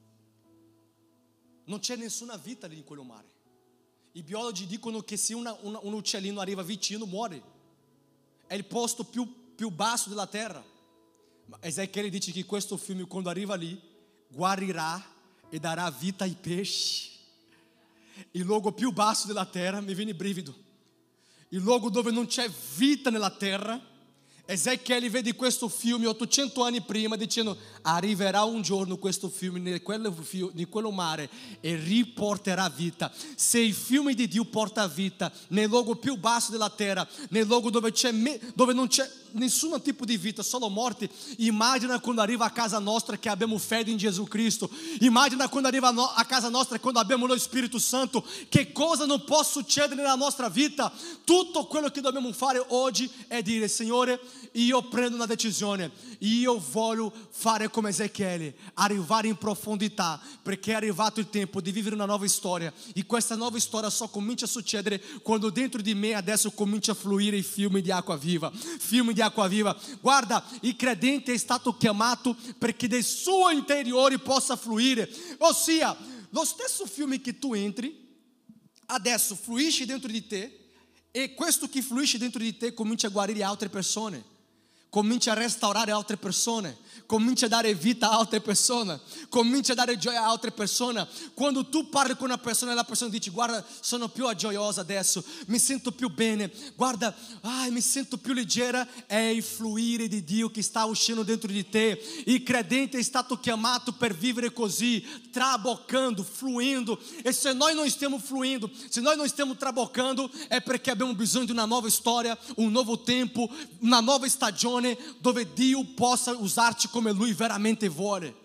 Non c'è nessuna vita lì in quello mare. I biologi dicono che se un uccellino arriva vicino, muore. È il posto più basso della terra. Ma Ezechiele dice che questo fiume, quando arriva lì, guarirà e darà vita ai pesci. Il luogo più basso della terra, mi viene brivido, il luogo dove non c'è vita nella terra. Ezechiele vede questo fiume 800 anni prima, dicendo: arriverà un giorno questo fiume in quello mare e riporterà vita. Se il fiume di Dio porta vita nel luogo più basso della terra, nel luogo dove non c'è nessun tipo di vita, solo morte, immagina quando arriva a casa nostra che abbiamo fede in Gesù Cristo. Immagina quando arriva a casa nostra, quando abbiamo lo Spirito Santo, che cosa non può succedere nella nostra vita. Tutto quello che dobbiamo fare oggi è dire: Signore, io prendo una decisione, io voglio fare come Ezechiele, arrivare in profondità, perché è arrivato il tempo di vivere una nuova storia, e questa nuova storia só comincia a succedere quando dentro di me adesso comincia a fluire il fiume di acqua viva. Fiume di acqua viva. Guarda, il credente è stato chiamato perché del suo interiore possa fluire, ossia lo stesso fiume che tu entri adesso fluisce dentro di te, e questo che fluisce dentro di te comincia a guarire altre persone. cominci a restaurare altre persone, cominci a dare vita a altre persone, cominci a dare gioia a altre persone. Quando tu parli con una persona e la persona dice: guarda, sono più gioiosa adesso, mi sento più bene, guarda, mi sento più leggera, è il fluire di Dio che sta uscendo dentro di te. Il credente è stato chiamato per vivere così, traboccando, fluindo. E se nós não stiamo fluindo, se nós não stiamo traboccando, è perché abbiamo bisogno di una nuova storia, un nuovo tempo, una nuova stagione dove Dio possa usarti come Lui veramente vuole.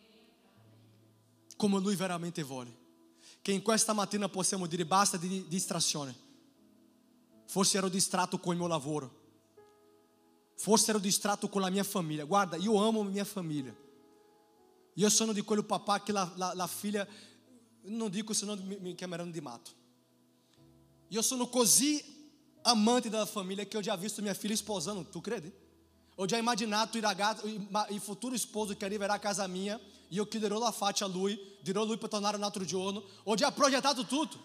Come Lui veramente vuole. Che in questa mattina possiamo dire: basta di distrazione. Forse ero distratto con il mio lavoro, forse ero distratto con la mia famiglia. Guarda, io amo mia famiglia. Io sono di quel papà che la figlia, non dico se no mi chiameranno di matto. Io sono così amante della famiglia che ho già visto mia figlia sposando, tu credi? Ho già immaginato il futuro sposo che arriverà a casa mia, io chiuderò la faccia a lui, dirò a lui per tornare un altro giorno. Ho già progettato tutto.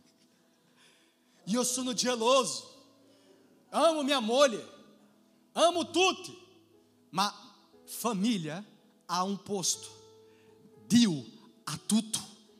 Io sono geloso, amo mia moglie, amo tutti, ma famiglia ha un posto, Dio ha tutto.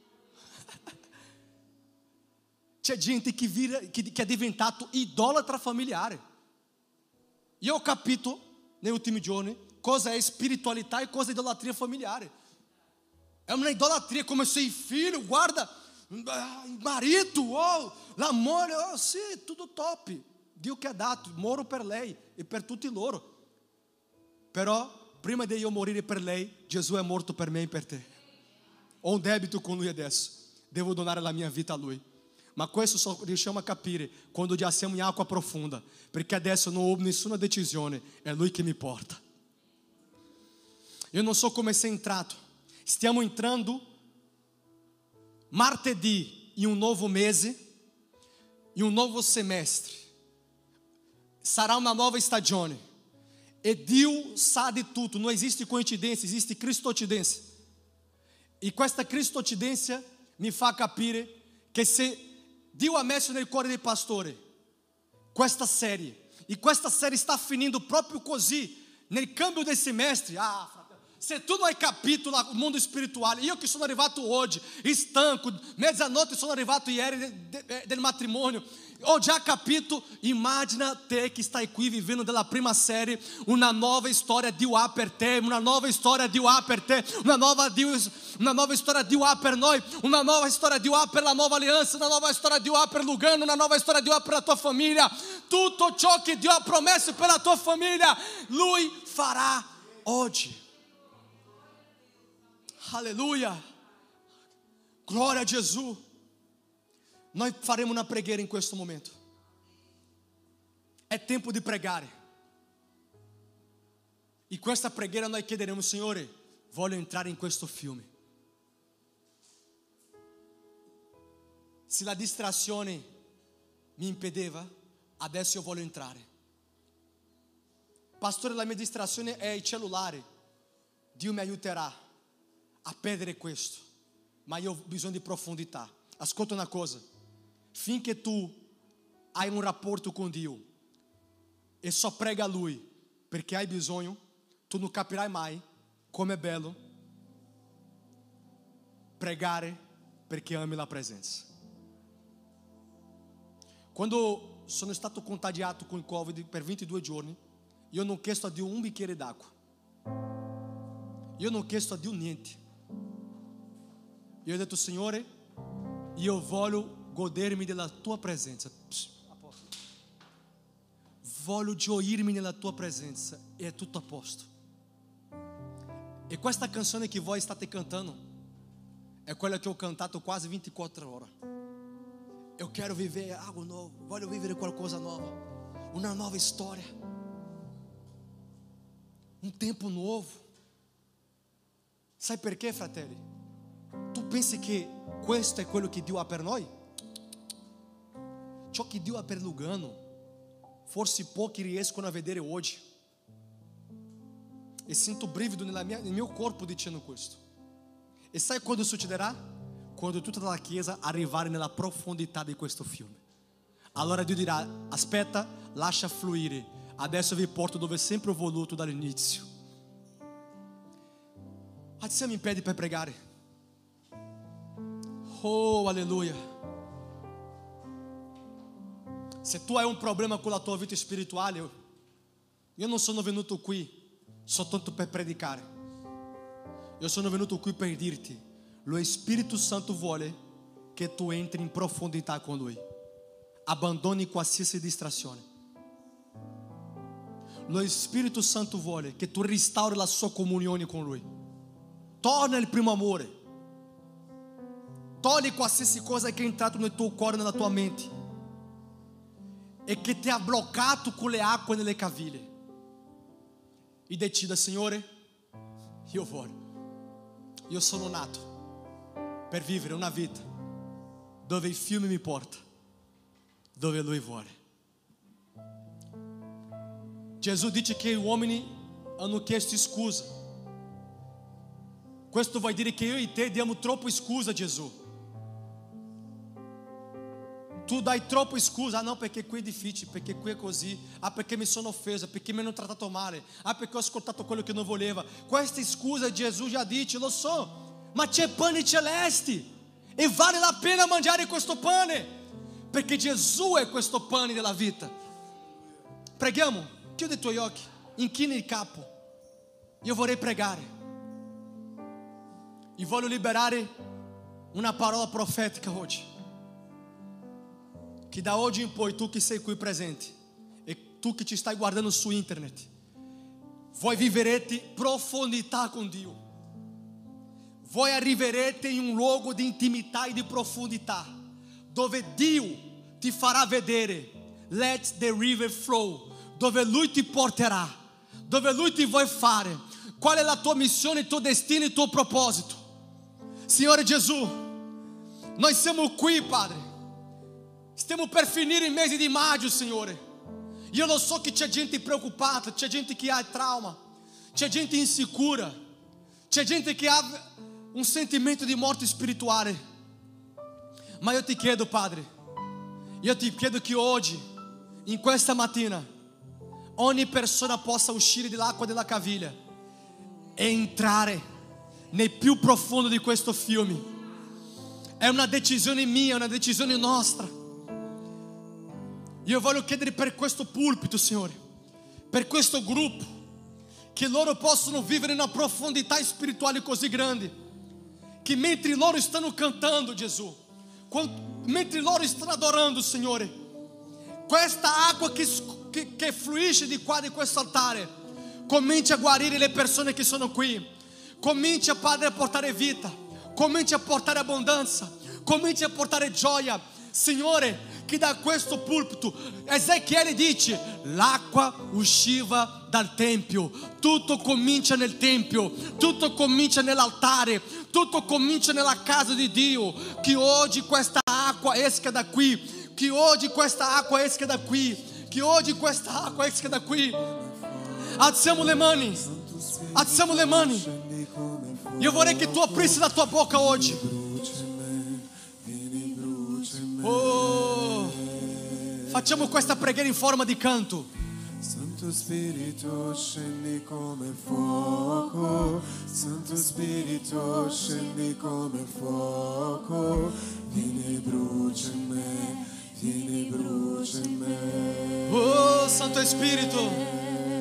C'è gente che è diventato idolatra familiare. Io ho capito negli ultimi giorni cosa è spiritualità e cosa è idolatria familiare. È una idolatria come se il figlio, guarda, il marito, l'amore, sì, tutto top. Dio che ha dato, moro per lei e per tutti loro. Però prima di io morire per lei, Gesù è morto per me e per te. Ho un debito con Lui adesso, devo donare la mia vita a Lui. Ma questo só riusciamo a capire quando già siamo in acqua profonda, perché adesso non ho nessuna decisione, è Lui che mi porta. Io non so come sei entrato. Stiamo entrando martedì in un nuovo mese, in un nuovo semestre. Sarà una nuova stagione. E Dio sa di tutto, non esiste coincidenza, esiste cristocidenza. E questa cristocidenza mi fa capire che se Dio ha messo nel cuore dei pastori questa serie, e questa serie sta finendo proprio così, nel cambio del semestre. Se tu non hai capito il mondo spirituale, io che sono arrivato oggi, stanco, mezzanotte sono arrivato ieri del matrimonio, ho già capito. Immagina te che stai qui vivendo della prima serie, una nuova storia Dio ha per te, una nuova storia Dio ha per te, una nuova storia Dio ha per noi, una nuova storia Dio ha per la nuova alleanza, una nuova storia Dio ha per Lugano, una nuova storia Dio ha per la tua famiglia. Tutto ciò che Dio ha promesso per la tua famiglia, Lui farà oggi. Alleluia, glória a Gesù. Noi faremo una preghiera in questo momento. È tempo di pregare. E questa preghiera noi chiederemo: Signore, voglio entrare in questo fiume. Se la distrazione mi impediva, adesso io voglio entrare. Pastore, la mia distrazione è il cellulare. Dio mi aiuterà a perdere questo, ma io ho bisogno di profondità. Ascolta una cosa: finché tu hai un rapporto con Dio e só prega a Lui perché hai bisogno, tu non capirai mai come è bello pregare perché ami la presenza. Quando sono stato contagiato con il Covid per 22 giorni, io non ho chiesto a Dio un bicchiere d'acqua, io non ho chiesto a Dio niente. Io ho detto: Signore, io voglio godermi della tua presenza. Voglio gioirmi nella tua presenza e è tutto a posto. E questa canzone che voi state cantando è quella che ho cantato quasi 24 ore. Eu quero viver algo novo, voglio vivere qualcosa nuovo, una nuova storia, un tempo nuovo. Sai perché, fratelli? Tu pensi che questo è quello che Dio ha per noi? Ciò che Dio ha per Lugano, forse pochi riescono a vedere oggi. E sento brivido nel mio corpo dicendo questo. E sai quando succederà? Quando tutta la chiesa arrivare nella profondità di questo fiume. Allora Dio dirà: aspetta, lascia fluire Adesso vi porto dove sempre ho voluto dall'inizio. Alziamo in piedi per pregare. Oh, alleluia. Se tu hai un problema con la tua vita spirituale, io non sono venuto qui soltanto per predicare. Io sono venuto qui per dirti: lo Spirito Santo vuole che tu entri in profondità con Lui. Abbandoni qualsiasi distrazione. Lo Spirito Santo vuole che tu restauri la sua comunione con Lui. Torna il primo amore. Togli qualsiasi cosa che è entrato nel tuo cuore, nella tua mente, e che ti ha bloccato con le acque nelle caviglie. E decida: Signore, io sono nato per vivere una vita dove il fiume mi porta dove Lui vuole. Gesù dice che gli uomini hanno chiesto scusa. Questo vuol dire che io e te diamo troppo scusa a Gesù. Tu dai troppo scusa: ah no, perché qui è difficile, perché qui è così, ah perché mi sono offesa, perché mi hanno trattato male, ah perché ho ascoltato quello che non voleva. Questa scusa Gesù già dice: lo so, ma c'è pane celeste e vale la pena mangiare questo pane, perché Gesù è questo pane della vita. Preghiamo. Chiudi i tuoi occhi, inchina il capo. Io vorrei pregare. E voglio liberare una parola profetica oggi. Che da oggi in poi, tu che sei qui presente e tu che ci stai guardando su internet, voi vivrete profondità con Dio. Voi arriverete in un luogo di intimità e di profondità, dove Dio ti farà vedere. Let the river flow. Dove Lui ti porterà, dove Lui ti vuole fare. Qual è la tua missione, il tuo destino, il tuo proposito. Signore Gesù, noi siamo qui, Padre. Stiamo per finire il mese di maggio, Signore. Io lo so che c'è gente preoccupata, c'è gente che ha trauma, c'è gente insicura, c'è gente che ha un sentimento di morte spirituale. Ma io ti chiedo, Padre, io ti chiedo che oggi, in questa mattina, ogni persona possa uscire dall'acqua della caviglia e entrare nel più profondo di questo fiume. È una decisione mia, è una decisione nostra. Io voglio chiedere per questo pulpito, Signore, per questo gruppo, che loro possano vivere una profondità spirituale così grande, che mentre loro stanno cantando, Gesù, mentre loro stanno adorando, Signore, questa acqua che fluisce di qua di questo altare comincia a guarire le persone che sono qui. Comincia, Padre, a portare vita, comincia a portare abbondanza, comincia a portare gioia, Signore. Che da questo pulpito, Ezechiele dice, l'acqua usciva dal Tempio. Tutto comincia nel Tempio, tutto comincia nell'altare, tutto comincia nella casa di Dio. Che oggi questa acqua esca da qui, che oggi questa acqua esca da qui, che oggi questa acqua esca da qui. Alziamo le mani, alziamo le mani. Io vorrei che tu aprissi la tua bocca oggi. Oh, facciamo questa preghiera in forma di canto. Santo Spirito scendi come fuoco, Santo Spirito scendi come fuoco, vieni brucia in me, vieni brucia in me. Oh, Santo Spirito.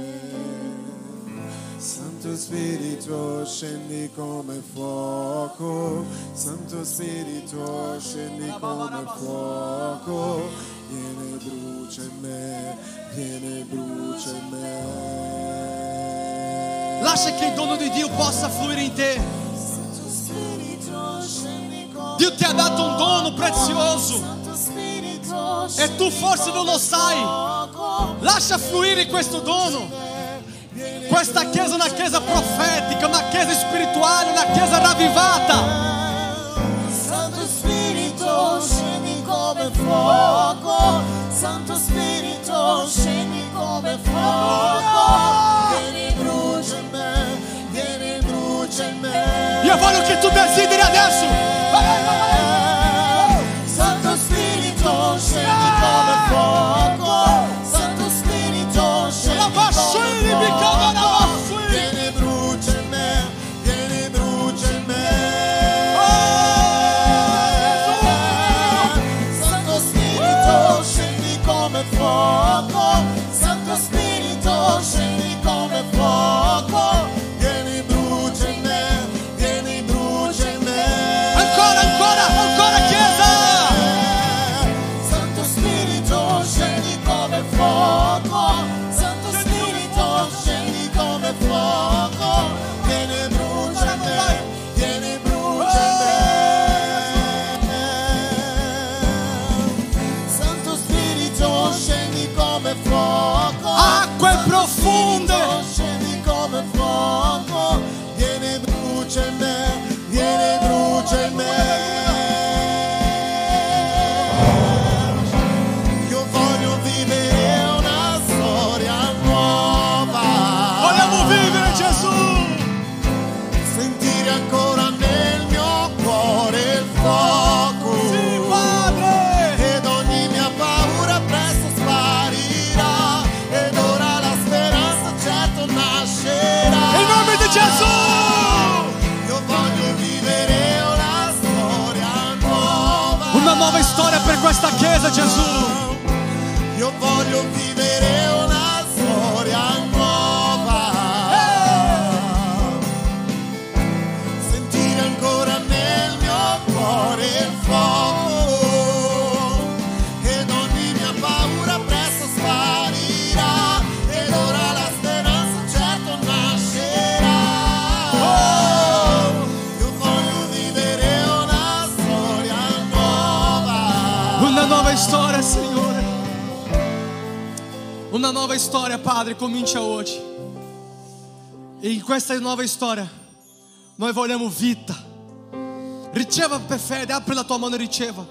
Santo Spirito scendi come fuoco, Santo Spirito scendi come fuoco, vieni brucia in me, vieni brucia in me. Lascia che il dono di Dio possa fluire in te. Dio ti ha dato un dono prezioso e tu forse non lo sai. Lascia fluire questo dono. Questa chiesa è una chiesa profetica, una chiesa spirituale, una chiesa ravvivata. Santo Spirito scendi come fuoco, Santo Spirito scendi come fuoco, vieni brucia in me, vieni brucia in me. Io voglio che tu desideri adesso. Santo Spirito scendi come fuoco, Santo Spirito scendi Una nuova storia per questa chiesa, Gesù. Io voglio vivere una storia nuova. Sentire ancora nel mio cuore il fuoco. Ed ogni mia paura presto sparirà. Ed ora la speranza certo nascerà. Io voglio vivere una storia nuova. Una nuova storia, Signore. Una nuova storia, Padre, comincia oggi. E in questa nuova storia noi vogliamo vita. Riceva per fede, apri la tua mano e riceva.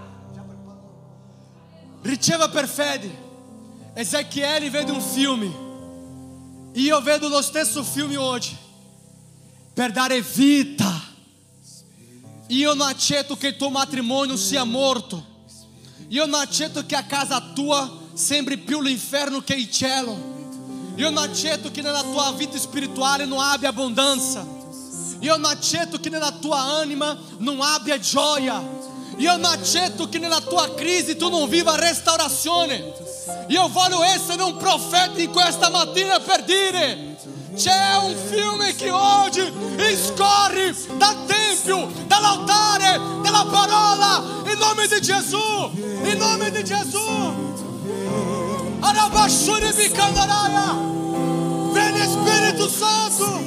Riceva per fede. Ezechiele vede un filme. Io vedo lo stesso filme oggi. Per dare vita. Io non accetto che il tuo matrimonio sia morto. Io non accetto che a casa tua sembri più l'inferno che il cielo. Io non accetto che nella tua vita spirituale non abbia abbondanza. Io non accetto che nella tua anima non abbia gioia. Io non accetto che nella tua crisi tu non viva restaurazione. Io voglio essere un profeta in questa mattina per dire: c'è un fiume che oggi scorre dal tempio, dall'altare, dalla parola, in nome di Gesù, in nome di Gesù. Arabashuri Bikandaraya. Vieni Spirito Santo.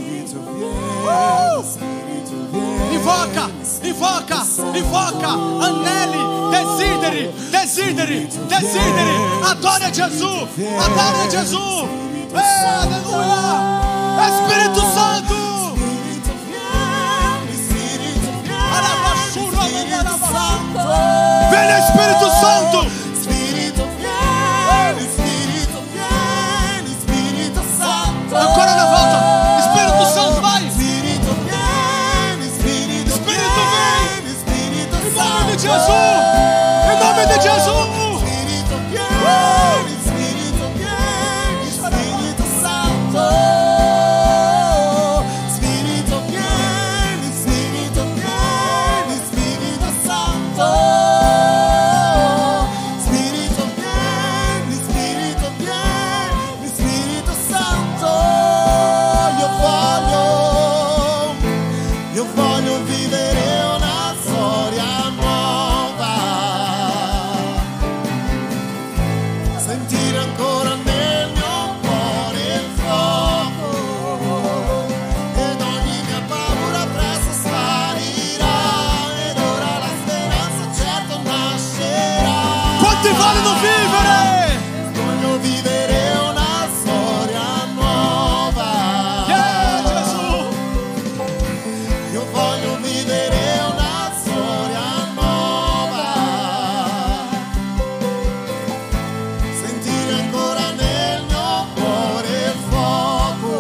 Invoca, invoca, invoca. Aneli, desideri, desideri, desideri. Adora Gesù, adora Gesù. Alleluia. Spirito Santo. Vieni Spirito Santo. Ancora una volta, Spirito Santo, vai! Spirito vieni, Spirito vieni, Spirito Santo! In nome di Gesù! In nome di Gesù! Spirito vieni, Spirito vieni, Spirito Santo! Spirito vieni, Spirito vieni, Spirito Santo! Spirito vieni, Spirito vieni, Spirito Santo! Io voglio vivere una storia nuova, sentire ancora nel mio cuore il fuoco, ed ogni mia paura presto sparirà, ed ora la speranza certo nascerà. Quanti vogliono vivere? Voglio vivere una storia nuova. Gesù! Io voglio vivere una storia nuova, sentire ancora nel mio cuore il fuoco,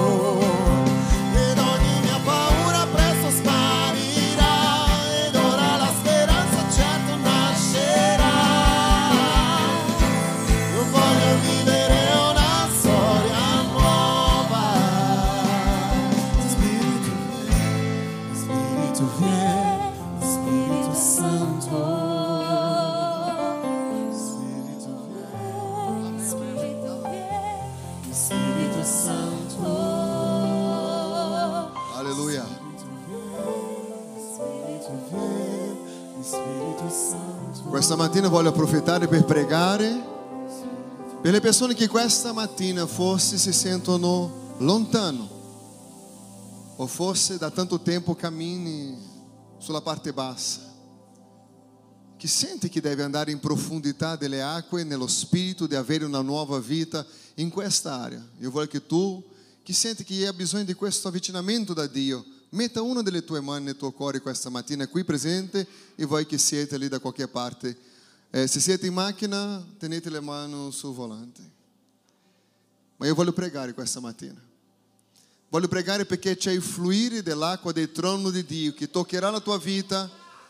ed ogni mia paura presto sparirà, ed ora la speranza certo nascerà. Io voglio vivere una storia nuova. Spirito vieni, Spirito Santo. Spirito vieni, Spirito Santo. Alleluia. Spirito vieni, Spirito Santo. Questa mattina voglio approfittare per pregare per le persone che questa mattina forse si sentono lontano o forse da tanto tempo cammini sulla parte bassa, che sente che deve andare in profondità delle acque nello spirito di avere una nuova vita in questa area. Io voglio che tu, che senti che hai bisogno di questo avvicinamento da Dio, metta una delle tue mani nel tuo cuore questa mattina qui presente, e voi che siete lì da qualche parte. Se siete in macchina, tenete le mani sul volante. Ma io voglio pregare questa mattina. Voglio pregare perché c'è il fluire dell'acqua del trono di Dio che toccherà la tua vita.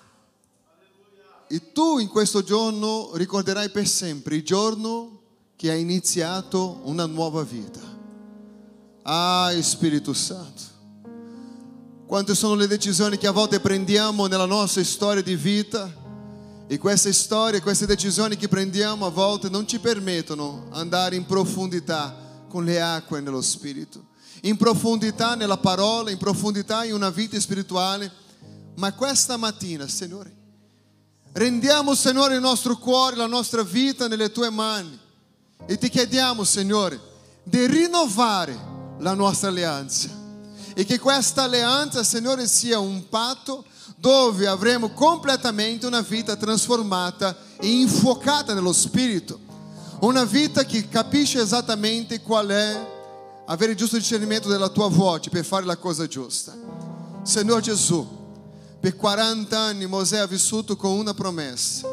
E tu in questo giorno ricorderai per sempre il giorno che hai iniziato una nuova vita. Ah, Spirito Santo. Quante sono le decisioni che a volte prendiamo nella nostra storia di vita E queste storie, queste decisioni che prendiamo a volte non ci permettono di andare in profondità con le acque nello Spirito, in profondità nella parola, in profondità in una vita spirituale. Ma questa mattina, Signore, rendiamo, Signore, il nostro cuore, la nostra vita nelle Tue mani e Ti chiediamo, Signore, di rinnovare la nostra alleanza e che questa alleanza, Signore, sia un patto dove avremo completamente una vita trasformata e infuocata nello Spirito, una vita che capisce esattamente qual è avere il giusto discernimento della Tua voce per fare la cosa giusta. Signor Gesù, per 40 anni Mosè ha vissuto con una promessa,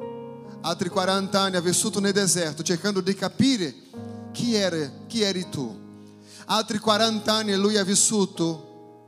altri 40 anni ha vissuto nel deserto cercando di capire chi eri tu, altri 40 anni lui ha vissuto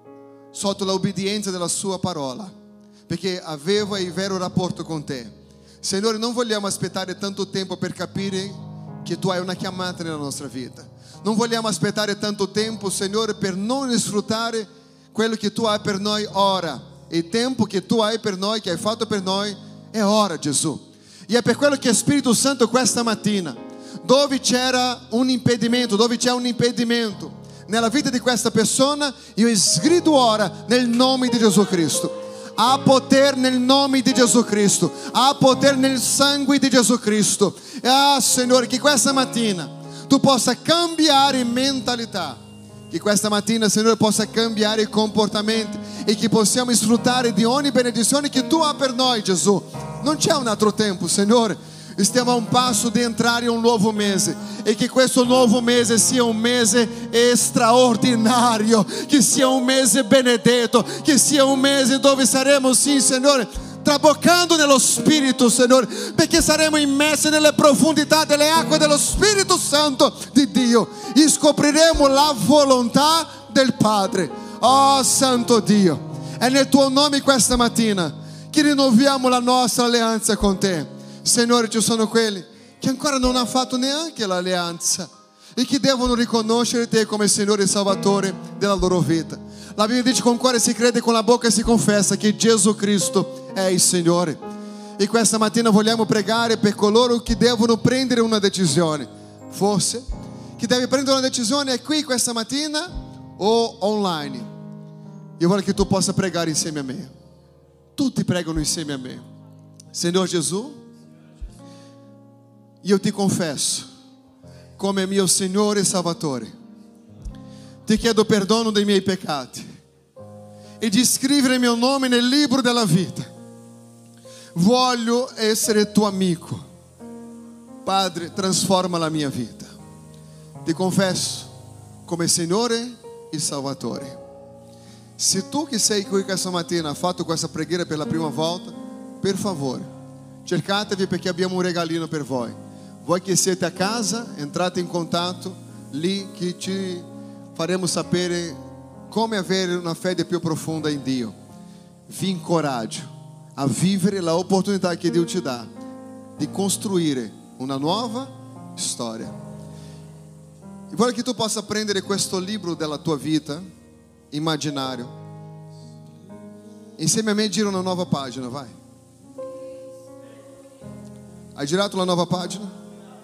sotto l'obbedienza della sua parola, perché aveva il vero rapporto con te. Signore, non vogliamo aspettare tanto tempo per capire che tu hai una chiamata nella nostra vita. Non vogliamo aspettare tanto tempo, Signore, per non sfruttare quello che tu hai per noi ora. Il tempo che tu hai per noi, che hai fatto per noi, è ora, Gesù. E è per quello che Spirito Santo questa mattina, dove c'era un impedimento, dove c'è un impedimento nella vita di questa persona, io sgrido ora nel nome di Gesù Cristo. Há poder nel nome di Gesù Cristo, há poder nel sangue di Gesù Cristo. Signore, che questa mattina tu possa cambiare mentalità, che questa mattina, Signore, possa cambiare comportamenti e che possiamo sfruttare di ogni benedizione che tu hai per noi, Gesù. Non c'è un altro tempo, Signore. Stiamo a un passo di entrare in un nuovo mese e che questo nuovo mese sia un mese straordinario, che sia un mese benedetto, che sia un mese dove saremo, sì, Signore, traboccando nello Spirito, Signore, perché saremo immersi nelle profondità delle acque dello Spirito Santo di Dio e scopriremo la volontà del Padre. Oh Santo Dio, è nel tuo nome questa mattina che rinnoviamo la nostra alleanza con te. Signore, ci sono quelli che ancora non hanno fatto neanche l'alleanza e che devono riconoscere te come Signore e Salvatore della loro vita. La Bibbia dice: con il cuore si crede, con la bocca si confessa che Gesù Cristo è il Signore. E questa mattina vogliamo pregare per coloro che devono prendere una decisione. Forse chi deve prendere una decisione è qui questa mattina o online. Io voglio che tu possa pregare insieme a me. Tutti pregano insieme a me. Signor Gesù, io ti confesso come mio Signore e Salvatore. Ti chiedo perdono dei miei peccati e di scrivere il mio nome nel libro della vita. Voglio essere tuo amico. Padre, trasforma la mia vita. Ti confesso come Signore e Salvatore. Se tu che sei qui questa mattina hai fatto questa preghiera per la prima volta, per favore, cercatevi perché abbiamo un regalino per voi. Voi che siete a casa, entrate in contatto lì che ci faremo sapere come avere una fede più profonda in Dio. Vi incoraggio a vivere la opportunità che Dio ti dà di costruire una nuova storia. E voglio che tu possa prendere questo libro della tua vita immaginario. Insieme a me gira una nuova pagina, vai. Hai girato la nuova pagina?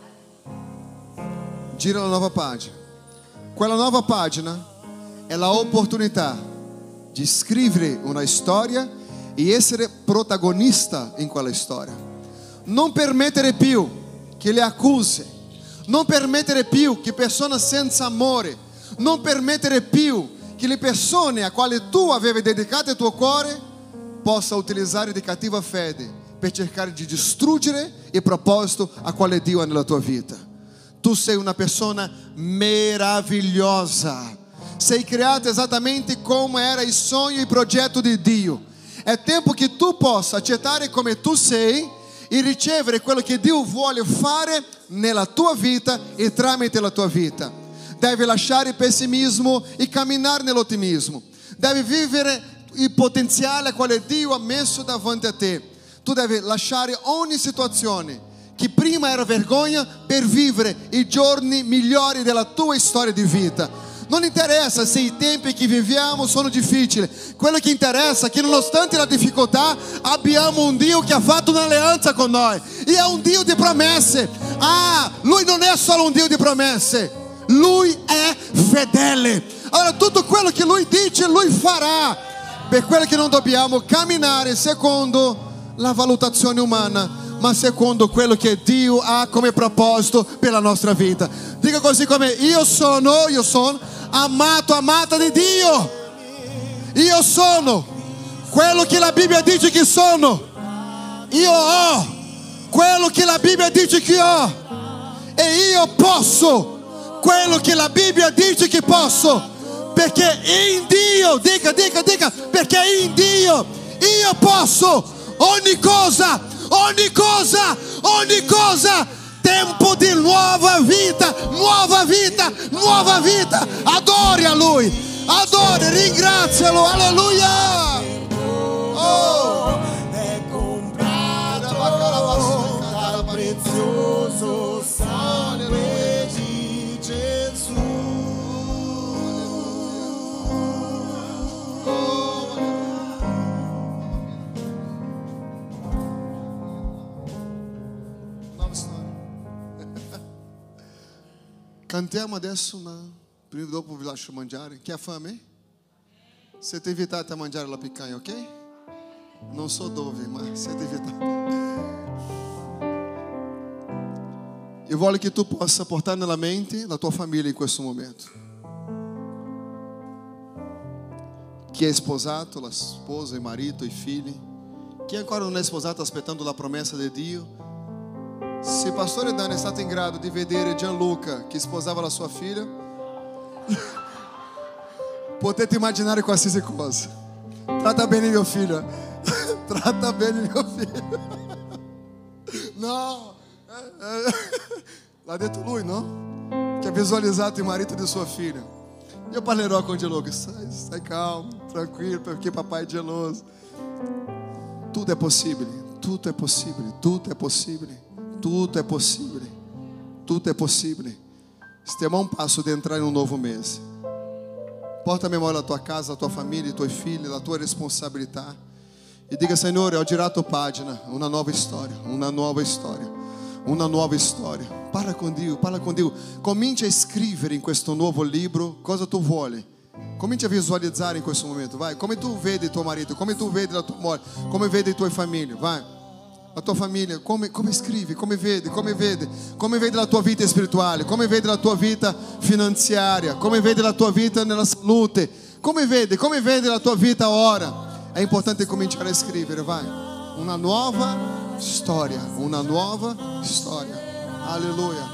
Gira la nuova pagina. Quella nuova pagina è l'opportunità di scrivere una storia e essere protagonista in quella storia. Non permettere più che le accuse, non permettere più che persone senza amore, non permettere più che le persone a quali tu avevi dedicato il tuo cuore possa utilizzare di cattiva fede per cercare di distruggere il proposito a quale Dio ha nella tua vita. Tu sei una persona meravigliosa, sei creata esattamente come era il sogno e il progetto di Dio. È tempo che tu possa accettare come tu sei e ricevere quello che Dio vuole fare nella tua vita e tramite la tua vita. Devi lasciare il pessimismo e camminare nell'ottimismo. Devi vivere il potenziale quale Dio ha messo davanti a te. Tu devi lasciare ogni situazione che prima era vergogna per vivere i giorni migliori della tua storia di vita. Non interessa se i tempi che viviamo sono difficili. Quello che interessa è che nonostante la difficoltà abbiamo un Dio che ha fatto un'alleanza con noi. E è un Dio di promesse. Lui non è solo un Dio di promesse. Lui è fedele. Allora tutto quello che Lui dice, Lui farà. Per quello che non dobbiamo camminare secondo la valutazione umana, ma secondo quello che Dio ha come proposito per la nostra vita. Dica così come: io sono amato, amata di Dio. Io sono quello che la Bibbia dice che sono. Io ho quello che la Bibbia dice che ho. E io posso quello che la Bibbia dice che posso. Perché in Dio, dica, perché in Dio io posso ogni cosa. Tempo di nuova vita. Adori a Lui, ringrazialo, alleluia. È comprato dal prezioso sangue di Gesù. Cantiamo adesso prima dopo vi lascio mangiare. Chi ha fame? Siete invitati a mangiare la picanha, ok? Non so dove, ma siete invitati. Io voglio che tu possa portare nella mente la tua famiglia in questo momento. Chi è sposato, la sposa, il marito, i figli. Chi ancora non è sposato aspettando la promessa di Dio. Se Pastore Dani è stato in grado di vedere Gianluca che sposava la sua figlia, potete immaginare qualsiasi cosa. Tratta bene mio figlio. Tratta bene mio figlio. No, l'ha detto lui, no? Che ha visualizzato il marito di sua figlia. Io parlerò con Gianluca. Stai calmo, tranquillo, perché papai è geloso. Tutto è possibile. Tutto è possibile. Tutto è possibile. Tutto è possibile, tutto è possibile. Stiamo a un passo di entrare in un nuovo mese. Porta a memoria la tua casa, la tua famiglia, i tuoi figli, la tua responsabilità. E dica: Signore, ho girato pagina, una nuova storia, una nuova storia, una nuova storia. Parla con Dio, parla con Dio. Comincia a scrivere in questo nuovo libro cosa tu vuoi. Comincia a visualizzare in questo momento, vai. Come tu vedi tuo marito, come tu vedi la tua moglie, come vedi i tuoi famiglie, vai. La tua famiglia, come scrivi, come vedi la tua vita spirituale, come vedi la tua vita finanziaria, come vedi la tua vita nella salute, come vedi la tua vita ora. È importante cominciare a scrivere, vai. Una nuova storia, alleluia.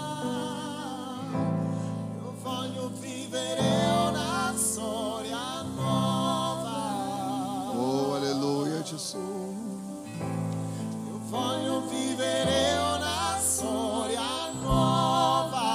Io voglio vivere una storia nuova. Oh, alleluia, Gesù. Voglio vivere una storia nuova,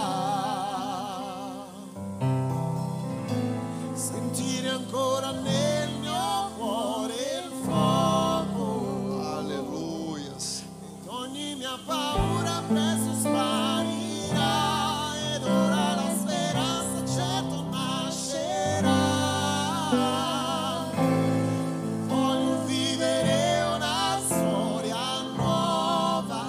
sentire ancora nel mio cuore il fuoco. Alleluia. Ed ogni mia paura presto sparirà, ed ora la speranza certo nascerà. Voglio vivere una storia nuova.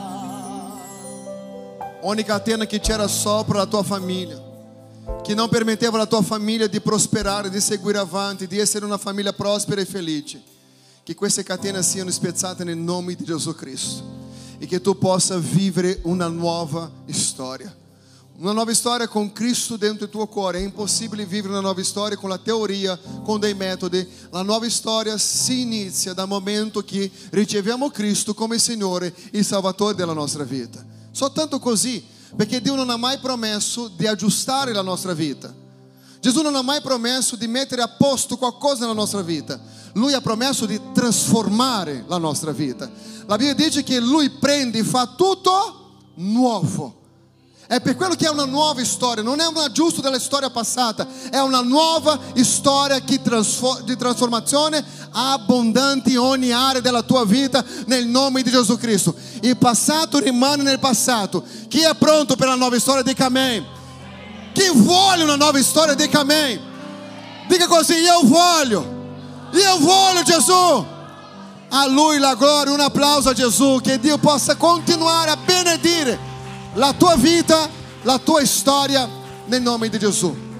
Ogni catena che c'era sopra la tua famiglia, che non permetteva alla tua famiglia di prosperare, di seguire avanti, di essere una famiglia prospera e felice, che queste catene siano spezzate nel nome di Gesù Cristo e che tu possa vivere una nuova storia. Una nuova storia con Cristo dentro il tuo cuore. È impossibile vivere una nuova storia con la teoria, con dei metodi. La nuova storia si inizia dal momento che riceviamo Cristo come Signore e Salvatore della nostra vita. Soltanto così, perché Dio non ha mai promesso di aggiustare la nostra vita. Gesù non ha mai promesso di mettere a posto qualcosa nella nostra vita. Lui ha promesso di trasformare la nostra vita. La Bibbia dice che Lui prende e fa tutto nuovo. È per quello che è una nuova storia, non è un aggiusto della storia passata, è una nuova storia di trasformazione abbondante in ogni area della tua vita nel nome di Gesù Cristo. Il passato rimane nel passato. Chi è pronto per la nuova storia? Dica amen. Chi vuole una nuova storia, dica amém. Dica così, io voglio Gesù. A Lui la gloria, un applauso a Gesù. Che Dio possa continuare a benedire la tua vita, la tua storia, nel nome di Gesù.